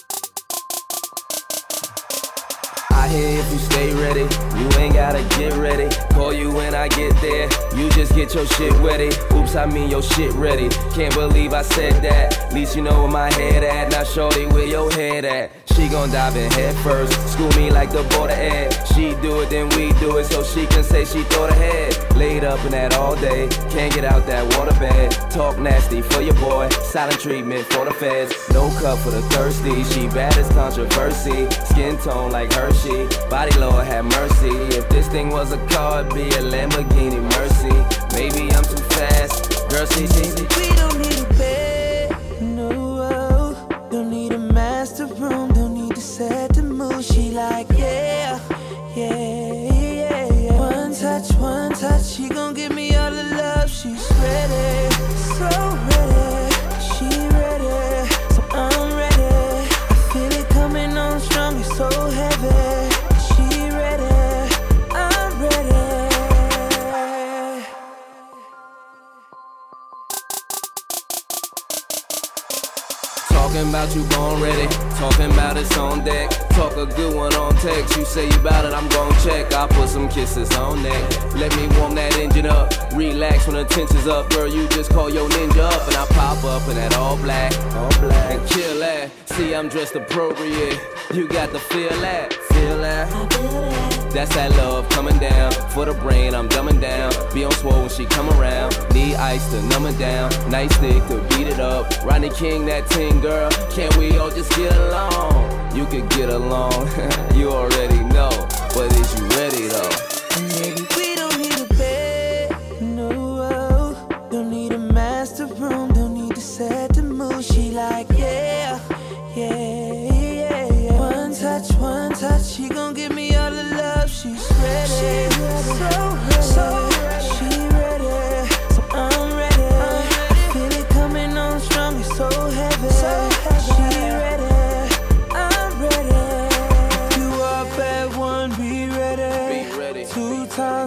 I hear if you stay ready, you ain't gotta get ready. Call you when I get there, you just get your shit ready. Oops, I mean your shit ready. Can't believe I said that. Least you know where my head at. Now shorty, where your head at? She gon' dive in head first, school me like the border ed. She do it, then we do it, so she can say she thought ahead. Laid up in that all day, can't get out that waterbed. Talk nasty for your boy, silent treatment for the feds. No cup for the thirsty, she bad as controversy. Skin tone like Hershey, body Lord have mercy. If this thing was a car, it'd be a Lamborghini Mercy. Maybe I'm too fast, girl, see. We don't need a bed, no. Don't need a master room, don't need to set the mood. She like, yeah, yeah, yeah, yeah. One touch, she gon' give me all the love. She's ready, so ready. She ready, so I'm ready. I feel it coming on strong, it's so heavy. She ready, I'm ready. Talking about you born ready, talking about it's on deck. Talk a good one on text, you say you bout it, I'm gon' check. I put some kisses on neck, let me warm that engine up. Relax when the tension's up, girl, you just call your ninja up. And I pop up in that all black, and kill that. See, I'm dressed appropriate, you got to feel that, That's that love coming down, for the brain I'm dumbing down. Be on swole when she come around, need ice to numb it down. Nice stick to beat it up, Rodney King that ting girl. Can't we all just get along? You could get along, you already know. But is you ready though? Maybe we don't need a bed, no. Don't need a master room, don't need to set the mood. She like, yeah, yeah, yeah, yeah. One touch, she gon' give me all the love. She's ready, so ready. She ready, so I'm ready. I feel it coming on strong, it's so heavy. She ready, I'm ready. You are bad one, be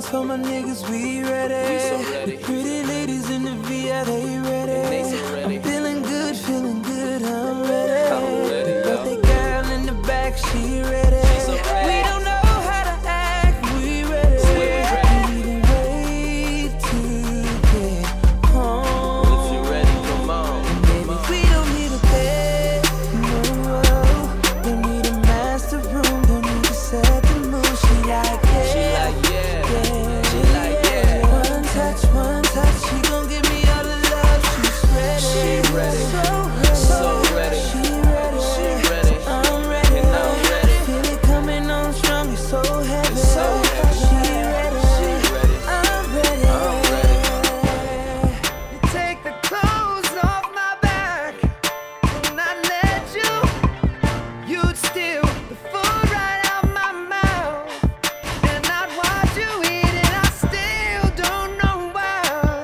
for my niggas, we ready. We so ready. The pretty ladies in the VI, they ready. They so ready. I'm feeling good, I'm ready. I'm ready, yo. Birthday girl in the back, she ready. She so ready. We don't know how to act, we ready. We ready. We need to wait to get home. If you ready, come on. Baby, we don't need a bed, no. Don't need a master room, don't need to set the mood. She like yeah. She like yeah. She like yeah. One touch, she gon' give me all the love. She's ready. She ready. So ready. She ready. She ready. I'm ready. And I'm ready. Feel it coming on strong, it's so heavy. It's so heavy. She ready. She ready. I'm ready. I'm ready. You take the clothes off my back, and I let you. You'd steal the food right out my mouth, and I'd watch you eat it. I still don't know why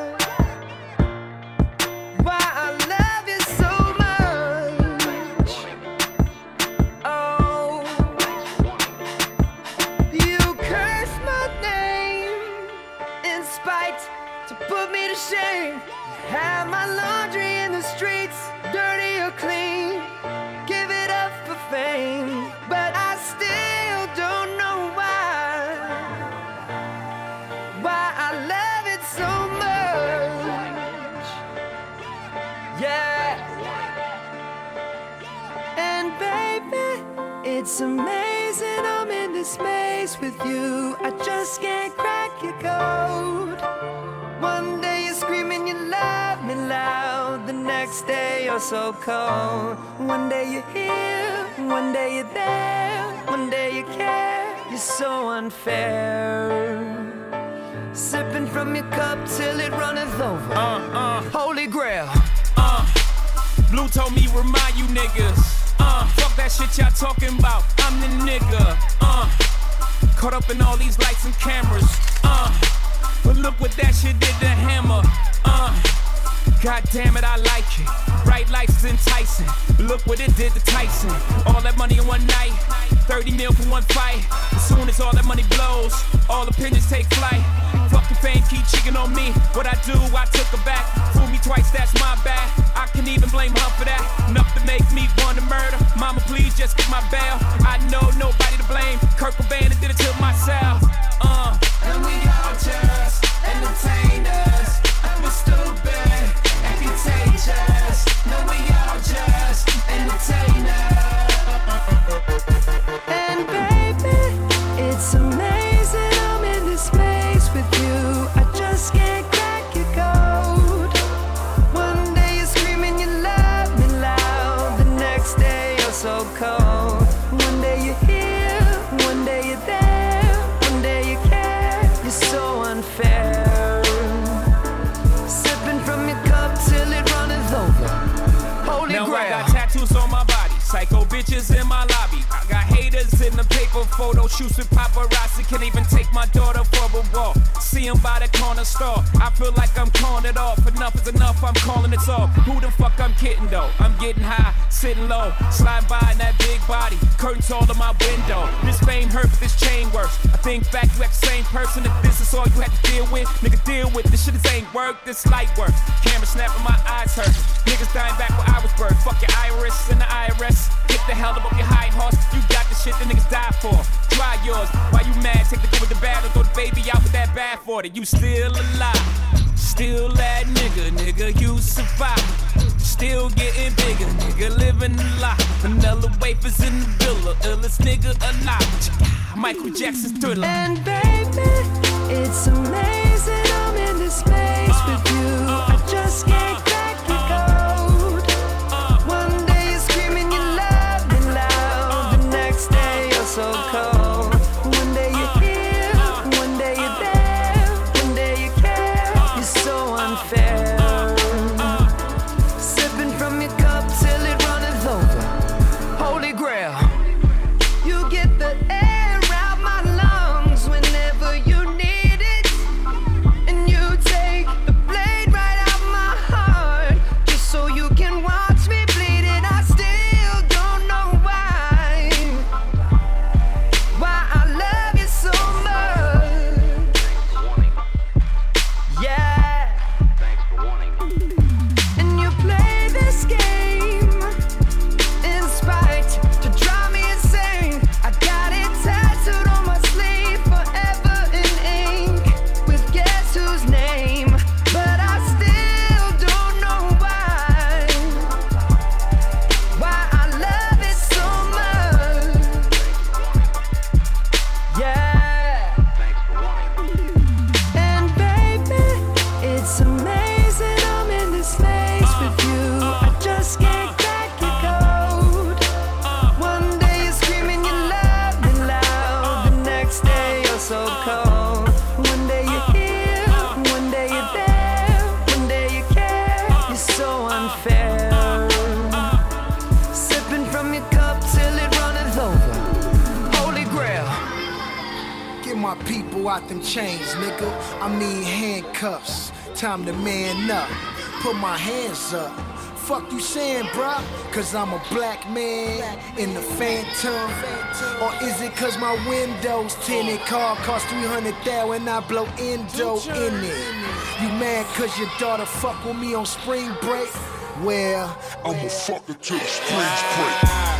I love you so much. Oh, you curse my name in spite to put me to shame. Have my laundry in the streets, dirty or clean. Give it up for fame, but I still don't know why I love it so much. Yeah. And baby, it's amazing I'm in this space with you. I just can't crack your code. One day you're screaming you love me loud, the next day you're so cold. One day you're here, one day you're there, one day you care. You're so unfair. Sipping from your cup till it runneth over. Holy grail. Blue told me remind you niggas. Fuck that shit y'all talking about. I'm the nigga. Caught up in all these lights and cameras. But look what that shit did to Hammer. God damn it, I like it. Bright lights is enticing. Look what it did to Tyson. All that money in one night. 30 mil for one fight. As soon as all that money blows, all opinions take flight. Fucking fame keep cheating on me. What I do, I took her back. Fool me twice, that's my bad. I can even blame her for that. Enough to make me want to murder. Mama, please just get my bail. I know nobody to blame. Kurt Cobain did it to myself. And we all just entertainers. And we're stupid and contagious. No, we all just entertainers. And baby, it's amazing I'm in this space with you. I just can't crack your code. One day you're screaming you love me loud, the next day you're so cold. One day you're here, one day you're there, one day you care. You're so unfair. Sipping from your cup till it runneth over. Holy now grail. I got tattoos on my body, psycho bitches in my lobby. I got haters in the paper photo shoots with paparazzi. Can't even take my daughter for a walk. See him by the corner store. I feel like I'm calling it off. Enough is enough, I'm calling it off. Who the fuck I'm kidding though? I'm getting high, sitting low, sliding by in that big body. Curtains all in my window. This fame hurt, but this chain works. I think back, you act the same person. If this is all you had to deal with, nigga, deal with this shit. This ain't work, this light work. Camera snapping, my eyes hurt. Niggas dying back where I was birthed. Fuck your iris and the IRS. Get the hell up your high horse. You got the shit the niggas die for. Try yours. Why you mad? Take the good with the bad or throw the baby out with that bad for it. You still alive. Still that nigga, you survive. Still getting bigger, nigga, living a lot. Vanilla wafers in the villa, illest nigga alive. Michael Jackson's Thriller. And baby, it's amazing I'm in this space with you. I just can't crack your code. One day you're screaming you love me loud, the next day you're so cold. One day you're here, one day you're there, one day you care. You're so unfair. Sipping from your cup till it runneth over. Holy grail. You get the air out my lungs whenever you need it. my people out them chains, nigga. I mean handcuffs. Time to man up. Put my hands up. Fuck you saying, bruh? Cause I'm a black man in the Phantom. Or is it cause my windows tinted? Car cost $300,000 and I blow endo in it. You mad cause your daughter fuck with me on spring break? Well, I'ma fuck her till the springs break.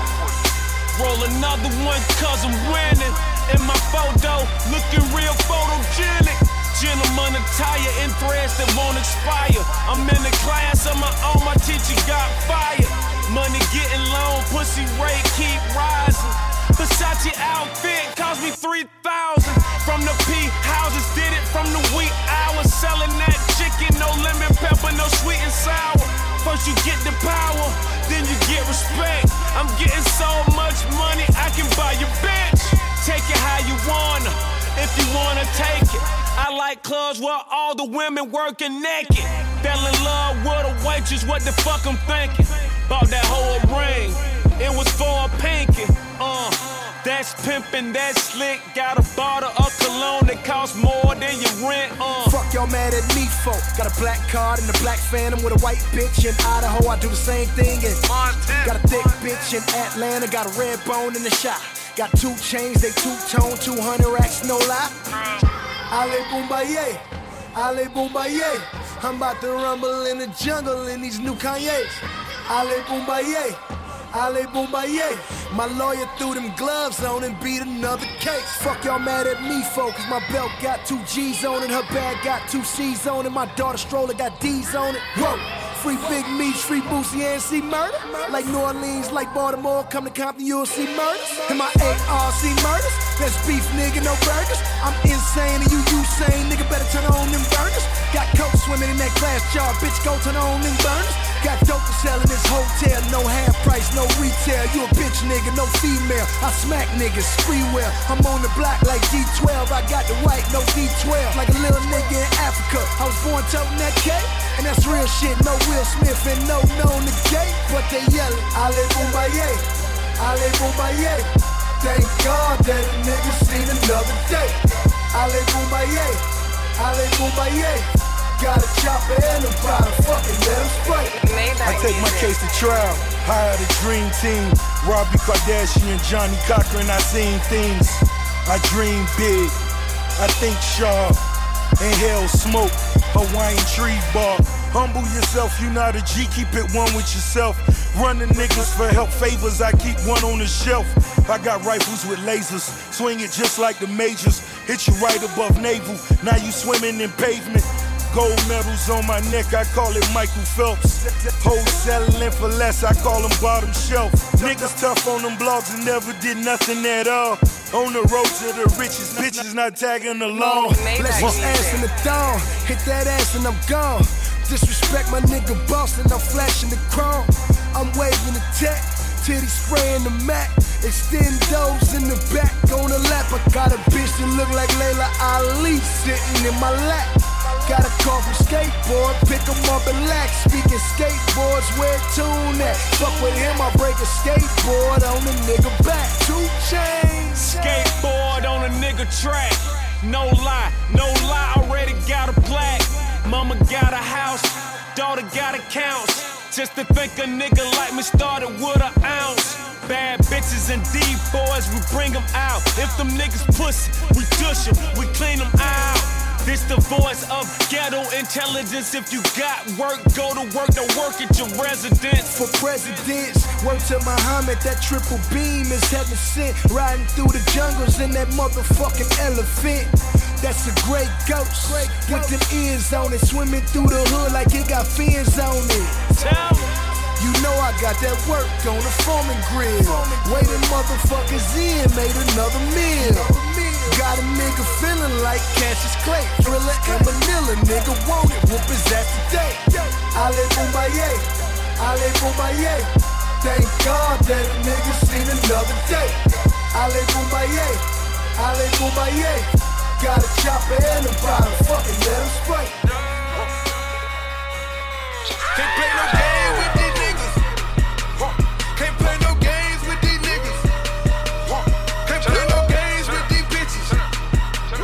Roll another one cause I'm winning. In my photo, looking real photogenic. Gentleman attire in threads that won't expire. I'm in a class of my own, my teacher got fired. Money getting low, pussy rate keep rising. Versace outfit cost me $3,000. From the P houses, did it from the wee hours. Selling that chicken, no lemon pepper, no sweet and sour. First you get the power, then you get respect. I'm getting so much money, I can buy your bitch. Take it how you wanna, if you wanna take it. I like clubs where all the women working naked. Fell in love with a waitress, what the fuck I'm thinking? Bought that whole ring, it was for a pinky. That's pimpin', that's slick. Got a bottle of cologne that costs more than your rent. Fuck y'all mad at me for. Got a black card and a black Phantom with a white bitch in Idaho. I do the same thing in Montana. Got a thick bitch in Atlanta. Got a red bone in the shop. Got 2 chains, they two-tone, 200 racks, no lie. Ale Boombaye, Ale Boombaye. I'm about to rumble in the jungle in these new Kanye's. Ale Boombaye, Ale Boombaye. My lawyer threw them gloves on and beat another case. Fuck y'all mad at me for, cause my belt got 2 G's on it. Her bag got 2 C's on it. My daughter stroller got D's on it. Whoa. Free Big Meech, free Boosie, and see murder. Like New Orleans, like Baltimore, come to Compton, you'll see murders. And my ARC murders, that's beef, nigga, no burgers. I'm insane and you sane, nigga, better turn on them burners. Got coke swimming in that glass jar, bitch, go turn on them burners. Got dope to sell in this hotel, no half price, no retail. You a bitch, nigga, no female. I smack niggas, free will. I'm on the block like D12, I got the white, no D12. Like a little nigga in Africa, I was born toting that cake. And that's real shit, no Will Smith and no negate. But they yellin', Ale Boombaye, Ale Boombaye. Thank God that a nigga seen another day. Ale Boombaye, Ale Boombaye. Got a chopper and a bottle, fucking let him spray. I take my case to trial, hire the dream team. Robbie Kardashian, Johnny Cochran, I seen things. I dream big, I think sharp. Inhale smoke, Hawaiian tree bark. Humble yourself, you not a G, keep it one with yourself. Running niggas for help favors, I keep one on the shelf. I got rifles with lasers, swing it just like the majors. Hit you right above navel, now you swimming in pavement. Gold medals on my neck, I call it Michael Phelps. Hoes settling for less, I call them bottom shelf. Niggas tough on them blogs and never did nothing at all. On the road to the richest, bitches not tagging along. Bless my ass in the thong, hit that ass and I'm gone. Disrespect my nigga boss and I'm flashing the chrome. I'm waving the tech, titty spraying the Mac. Extendos in the back on the lap. I got a bitch that look like Layla Ali sitting in my lap. Got a call from skateboard, pick 'em up and lax. Speaking skateboards, where tune at? Fuck with him, I break a skateboard on the nigga back. 2 chains. Skateboard on a nigga track. No lie, already got a plaque. Mama got a house, daughter got accounts. Just to think a nigga like me started with an ounce. Bad bitches and D-boys, we bring them out. If them niggas pussy, we dush them, we clean them out. This the voice of ghetto intelligence. If you got work, go to work, don't work at your residence. For presidents, word to Muhammad, that triple beam is heaven sent. Riding through the jungles in that motherfucking elephant. That's a great ghost, with them ears on it. Swimming through the hood like it got fins on it. You know I got that work on the foreman grill. Waiting motherfuckers in, made another meal. Got a nigga feeling like Cassius Clay. Thriller and Manila, nigga want it, whoop his ass today. Ale Boombaye, Ale Boombaye. Thank God that a nigga seen another day. Ale Boombaye, Ale Boombaye. Got a chopper and a bottle, fucking let him spray. Can't play no game with these niggas. Can't play no games with these niggas. Can't play no games with these bitches.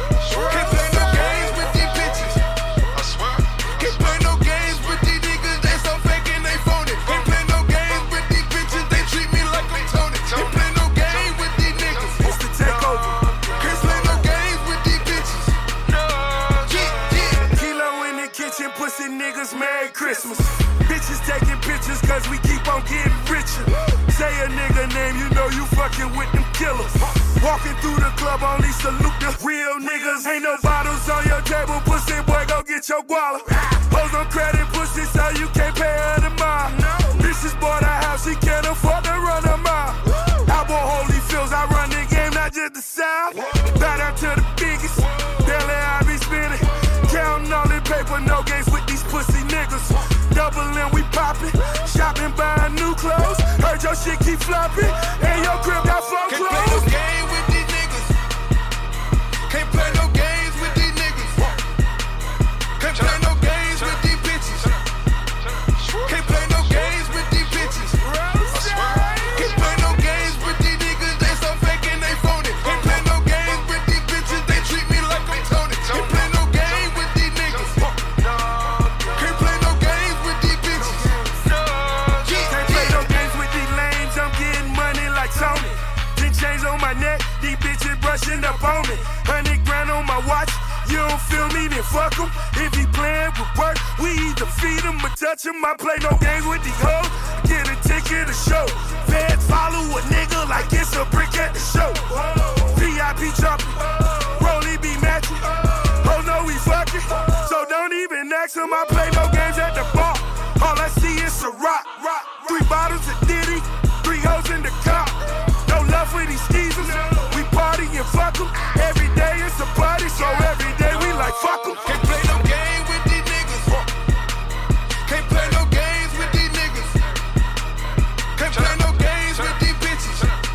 Christmas. Bitches taking pictures cause we keep on getting richer. Say a nigga name, you know you fucking with them killers. Walking through the club, only salute the real niggas. Ain't no bottles on your table, pussy boy, go get your guala. Hoes on credit, pussy, so you can't pay her the mile. Bitches bought a house, she can't afford to run a mile. I bought Holyfields, I run the game, not just the South. Bow down to the biggest, daily I be spinning. Counting all the paper, no games with these pussy niggas. Doubling, we popping, shopping, buying new clothes. Heard your shit keep flopping, and your crib got flow clothes. Can't play no game with these niggas. Can't play no games with these niggas. Can't play no games with these bitches. Can't play no games with these bitches. Can't play no games with these niggas. They so fake and they phony. Can't play no games with these bitches. They treat me like I'm Tony. Can't play no game with these niggas. Can't play no games with these bitches. Can't play no games with these lames. I'm getting money like Tony. 10 chains on my neck, these bitches brushing up on me. 100 grand on my watch. You don't feel me, then fuck him. If he playing with work, we either feed him or touch him. I play no games with these hoes. Get a ticket to show. Feds follow a nigga like it's a brick at the show. VIP jumping, Rolly be matching. Oh no, we fucking. So don't even ask him. I play no games at the bar. All I see is a rock. 3 bottles of Diddy, 3 hoes in the car. No love for these skeezers. We party and fuck them. Every day it's a party, so every day we like fuck them. Can't play no game with these niggas. Can't play no games with these niggas. Can't play no games with these bitches.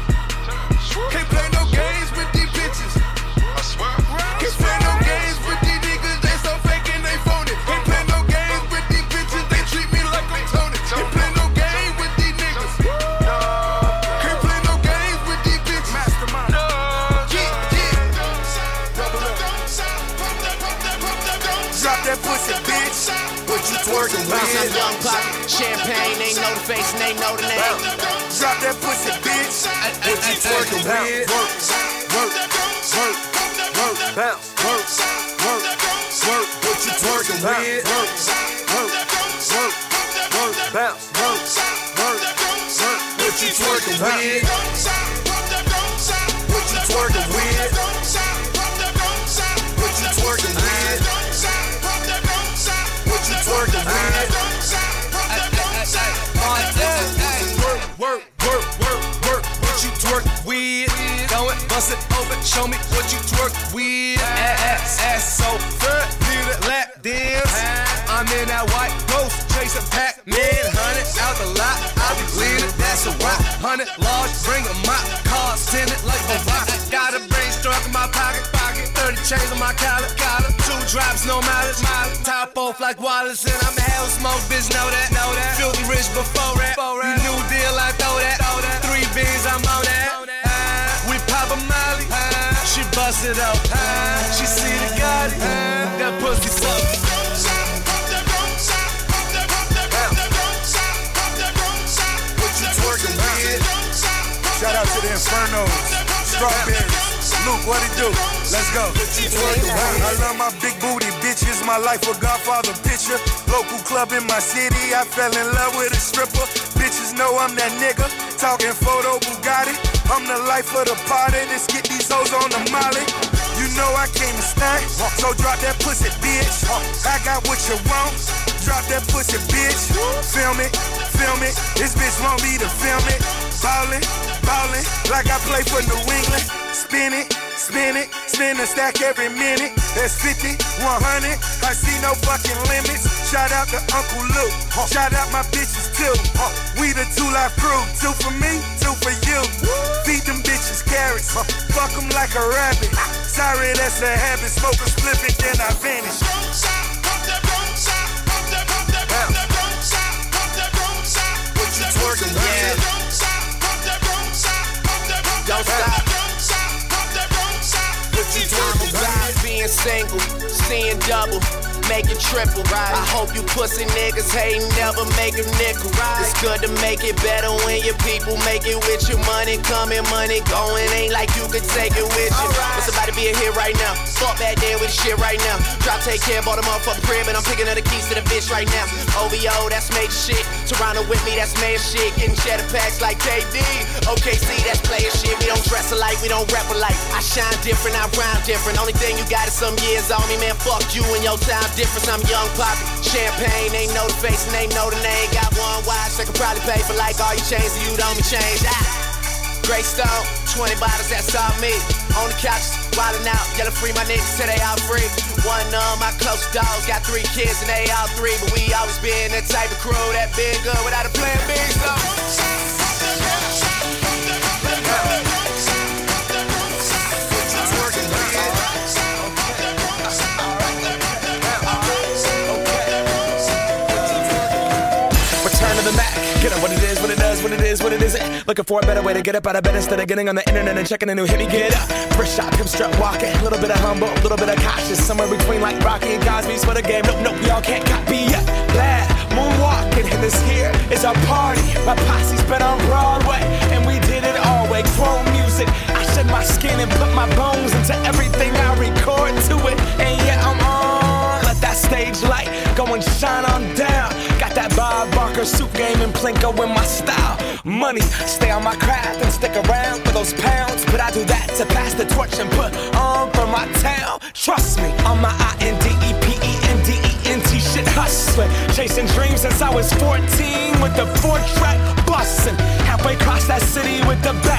Can't play no games with these bitches. I swear. Can't play no games with these niggas. They so fake and they phony. Can't play no games with these bitches. They treat me like I'm Tony. Can't play no game with these niggas. Can't play no games with these bitches. Mastermind. Drop that pussy, bitch. What you twerking with? Young pop, champagne, they know the face and they know the name. Drop that pussy, bitch. What you twerking with? Work, bounce, work. What you twerking with? Work, bounce, What you twerking with? What you twerking with? What you twerking with? What you twerking with? Work. What you twerk with? Throw it, bust it open, show me what you twerk with. Ass so good, need a lap dance. I'm in that white ghost, chasing Pac-Man. 100 out the lot, I be leaning, that's a rock. 100 large, bring a mop, cars tinted like a rock. Got a brain struck in my pocket. 30 chains on my collar. 2 drops, no mileage. Top off like Wallace, and I'm a hell smoke, bitch, know that. Filthy rich before that. You new deal, I throw that. 3 beans, I'm on that. We pop a molly, she bust it up. She see the Gotti, that pussy suck. What you twerking with? Shout out to the Infernos, Strawberries. Luke, what it do? Let's go. I love my big booty bitches. My life a Godfather picture. Local club in my city. I fell in love with a stripper. Bitches know I'm that nigga. Talking photo Bugatti. I'm the life of the party. Let's get these hoes on the molly. You know I came to stunt, so drop that pussy, bitch. I got what you want. Drop that pussy, bitch. Film it. This bitch want me to film it. Ballin', like I play for New England. Spin a stack every minute. That's 50, 100. I see no fucking limits. Shout out to Uncle Luke. Shout out my bitches too. We the 2 Life crew. 2 for me, 2 for you. Feed them bitches carrots. Fuck them like a rabbit. Sorry, that's a habit. Smoke a split and then I vanish. What you twerking with? Don't stop. What you twerking with? Being single, seeing double, making triple. I hope you pussy niggas hate never make a nickel. It's good to make it better when your people make it with you. Money coming, money going. Ain't like you could take it with you. When somebody be a hit right now. Fuck back there with the shit right now. Drop, take care, bought a motherfucking crib, and I'm picking up the keys to the bitch right now. OVO, that's major shit. Toronto with me, that's major shit. Getting cheddar packs like KD. OKC, that's player shit. We don't dress alike, we don't rap alike. I shine different, I rhyme different. Only thing you got is some years on me, man. Fuck you and your time difference. I'm young poppy. Champagne, they know the face and they know the name. Got one watch, they could probably pay for like all your chains, so you don't be changed. Grey Stone, 20 bottles, that's all me. On the couch, wildin' out, yelling free my niggas till they all free. One of my close dogs got 3 kids and they all 3, but we always been that type of crew that been good without a plan B. Return to the Mac. Get up what it is, what it does, what it is, what it isn't. Looking for a better way to get up out of bed instead of getting on the internet and checking a new hit. Me get up, first shot, come strut walking. A little bit of humble, a little bit of cautious. Somewhere between like Rocky and Cosby's for the game. Nope, y'all can't copy yet. Glad moonwalking, and this here is our party. My posse's been on Broadway, and we did it all way. Chrome music, I shed my skin and put my bones into everything I record to it. And yeah, I'm on. Let that stage light go and shine on down. Got that Bob Barker suit game and Plinko in my style. Money, stay on my craft and stick around for those pounds. But I do that to pass the torch and put on for my town. Trust me, on my INDEPENDENT shit hustling. Chasing dreams since I was 14 with the 4-track bustin'. Halfway across that city with the back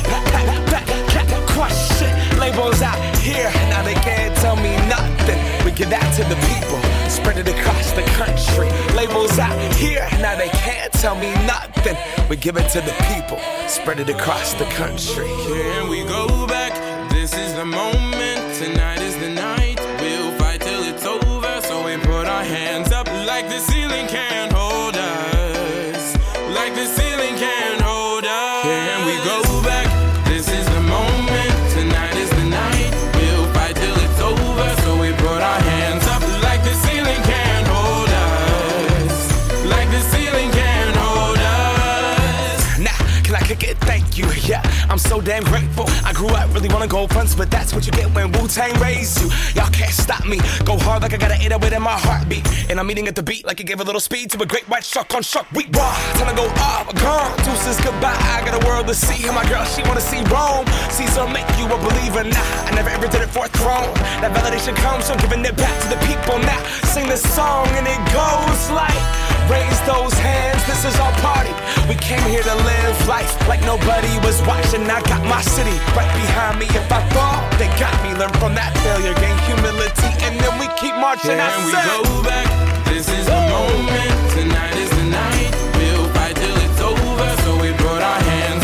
crush shit. Labels out here, now they can't tell me nothing. We give that to the people, spread it across the country. Labels out here, now they can't tell me nothing. We give it to the people, spread it across the country. Can we go back? This is the moment, tonight is the night. We'll fight till it's over, so we put our hands up like the ceiling can't hold us. Like the ceiling can't hold us. Can we go back? This is the moment, tonight is the night. We'll fight till it's over, so we put our hands up like the ceiling can't hold us. Like the ceiling can't hold us. Nah, can I kick it? Thank you, yeah, I'm so damn grateful. I grew up really wanna go fronts, but that's what you get when Wu-Tang raised you. Y'all can't stop me, go hard like I got an 808 in my heartbeat. And I'm eating at the beat like it gave a little speed to a great white shark on shark week. Raw, time to go off, gone, deuces goodbye. I got a world to see, and my girl, she wanna see Rome. Caesar make you a believer, nah, I never ever did it for a throne. That validation comes from giving it back to the people. Now, sing this song and it goes like, raise those hands, this is our party. We came here to live life like nobody was watching. I got my city right behind me. If I fall, they got me. Learn from that failure, gain humility, and then we keep marching. Can we go back? This is the moment, tonight is the night. We'll fight till it's over, so we put our hands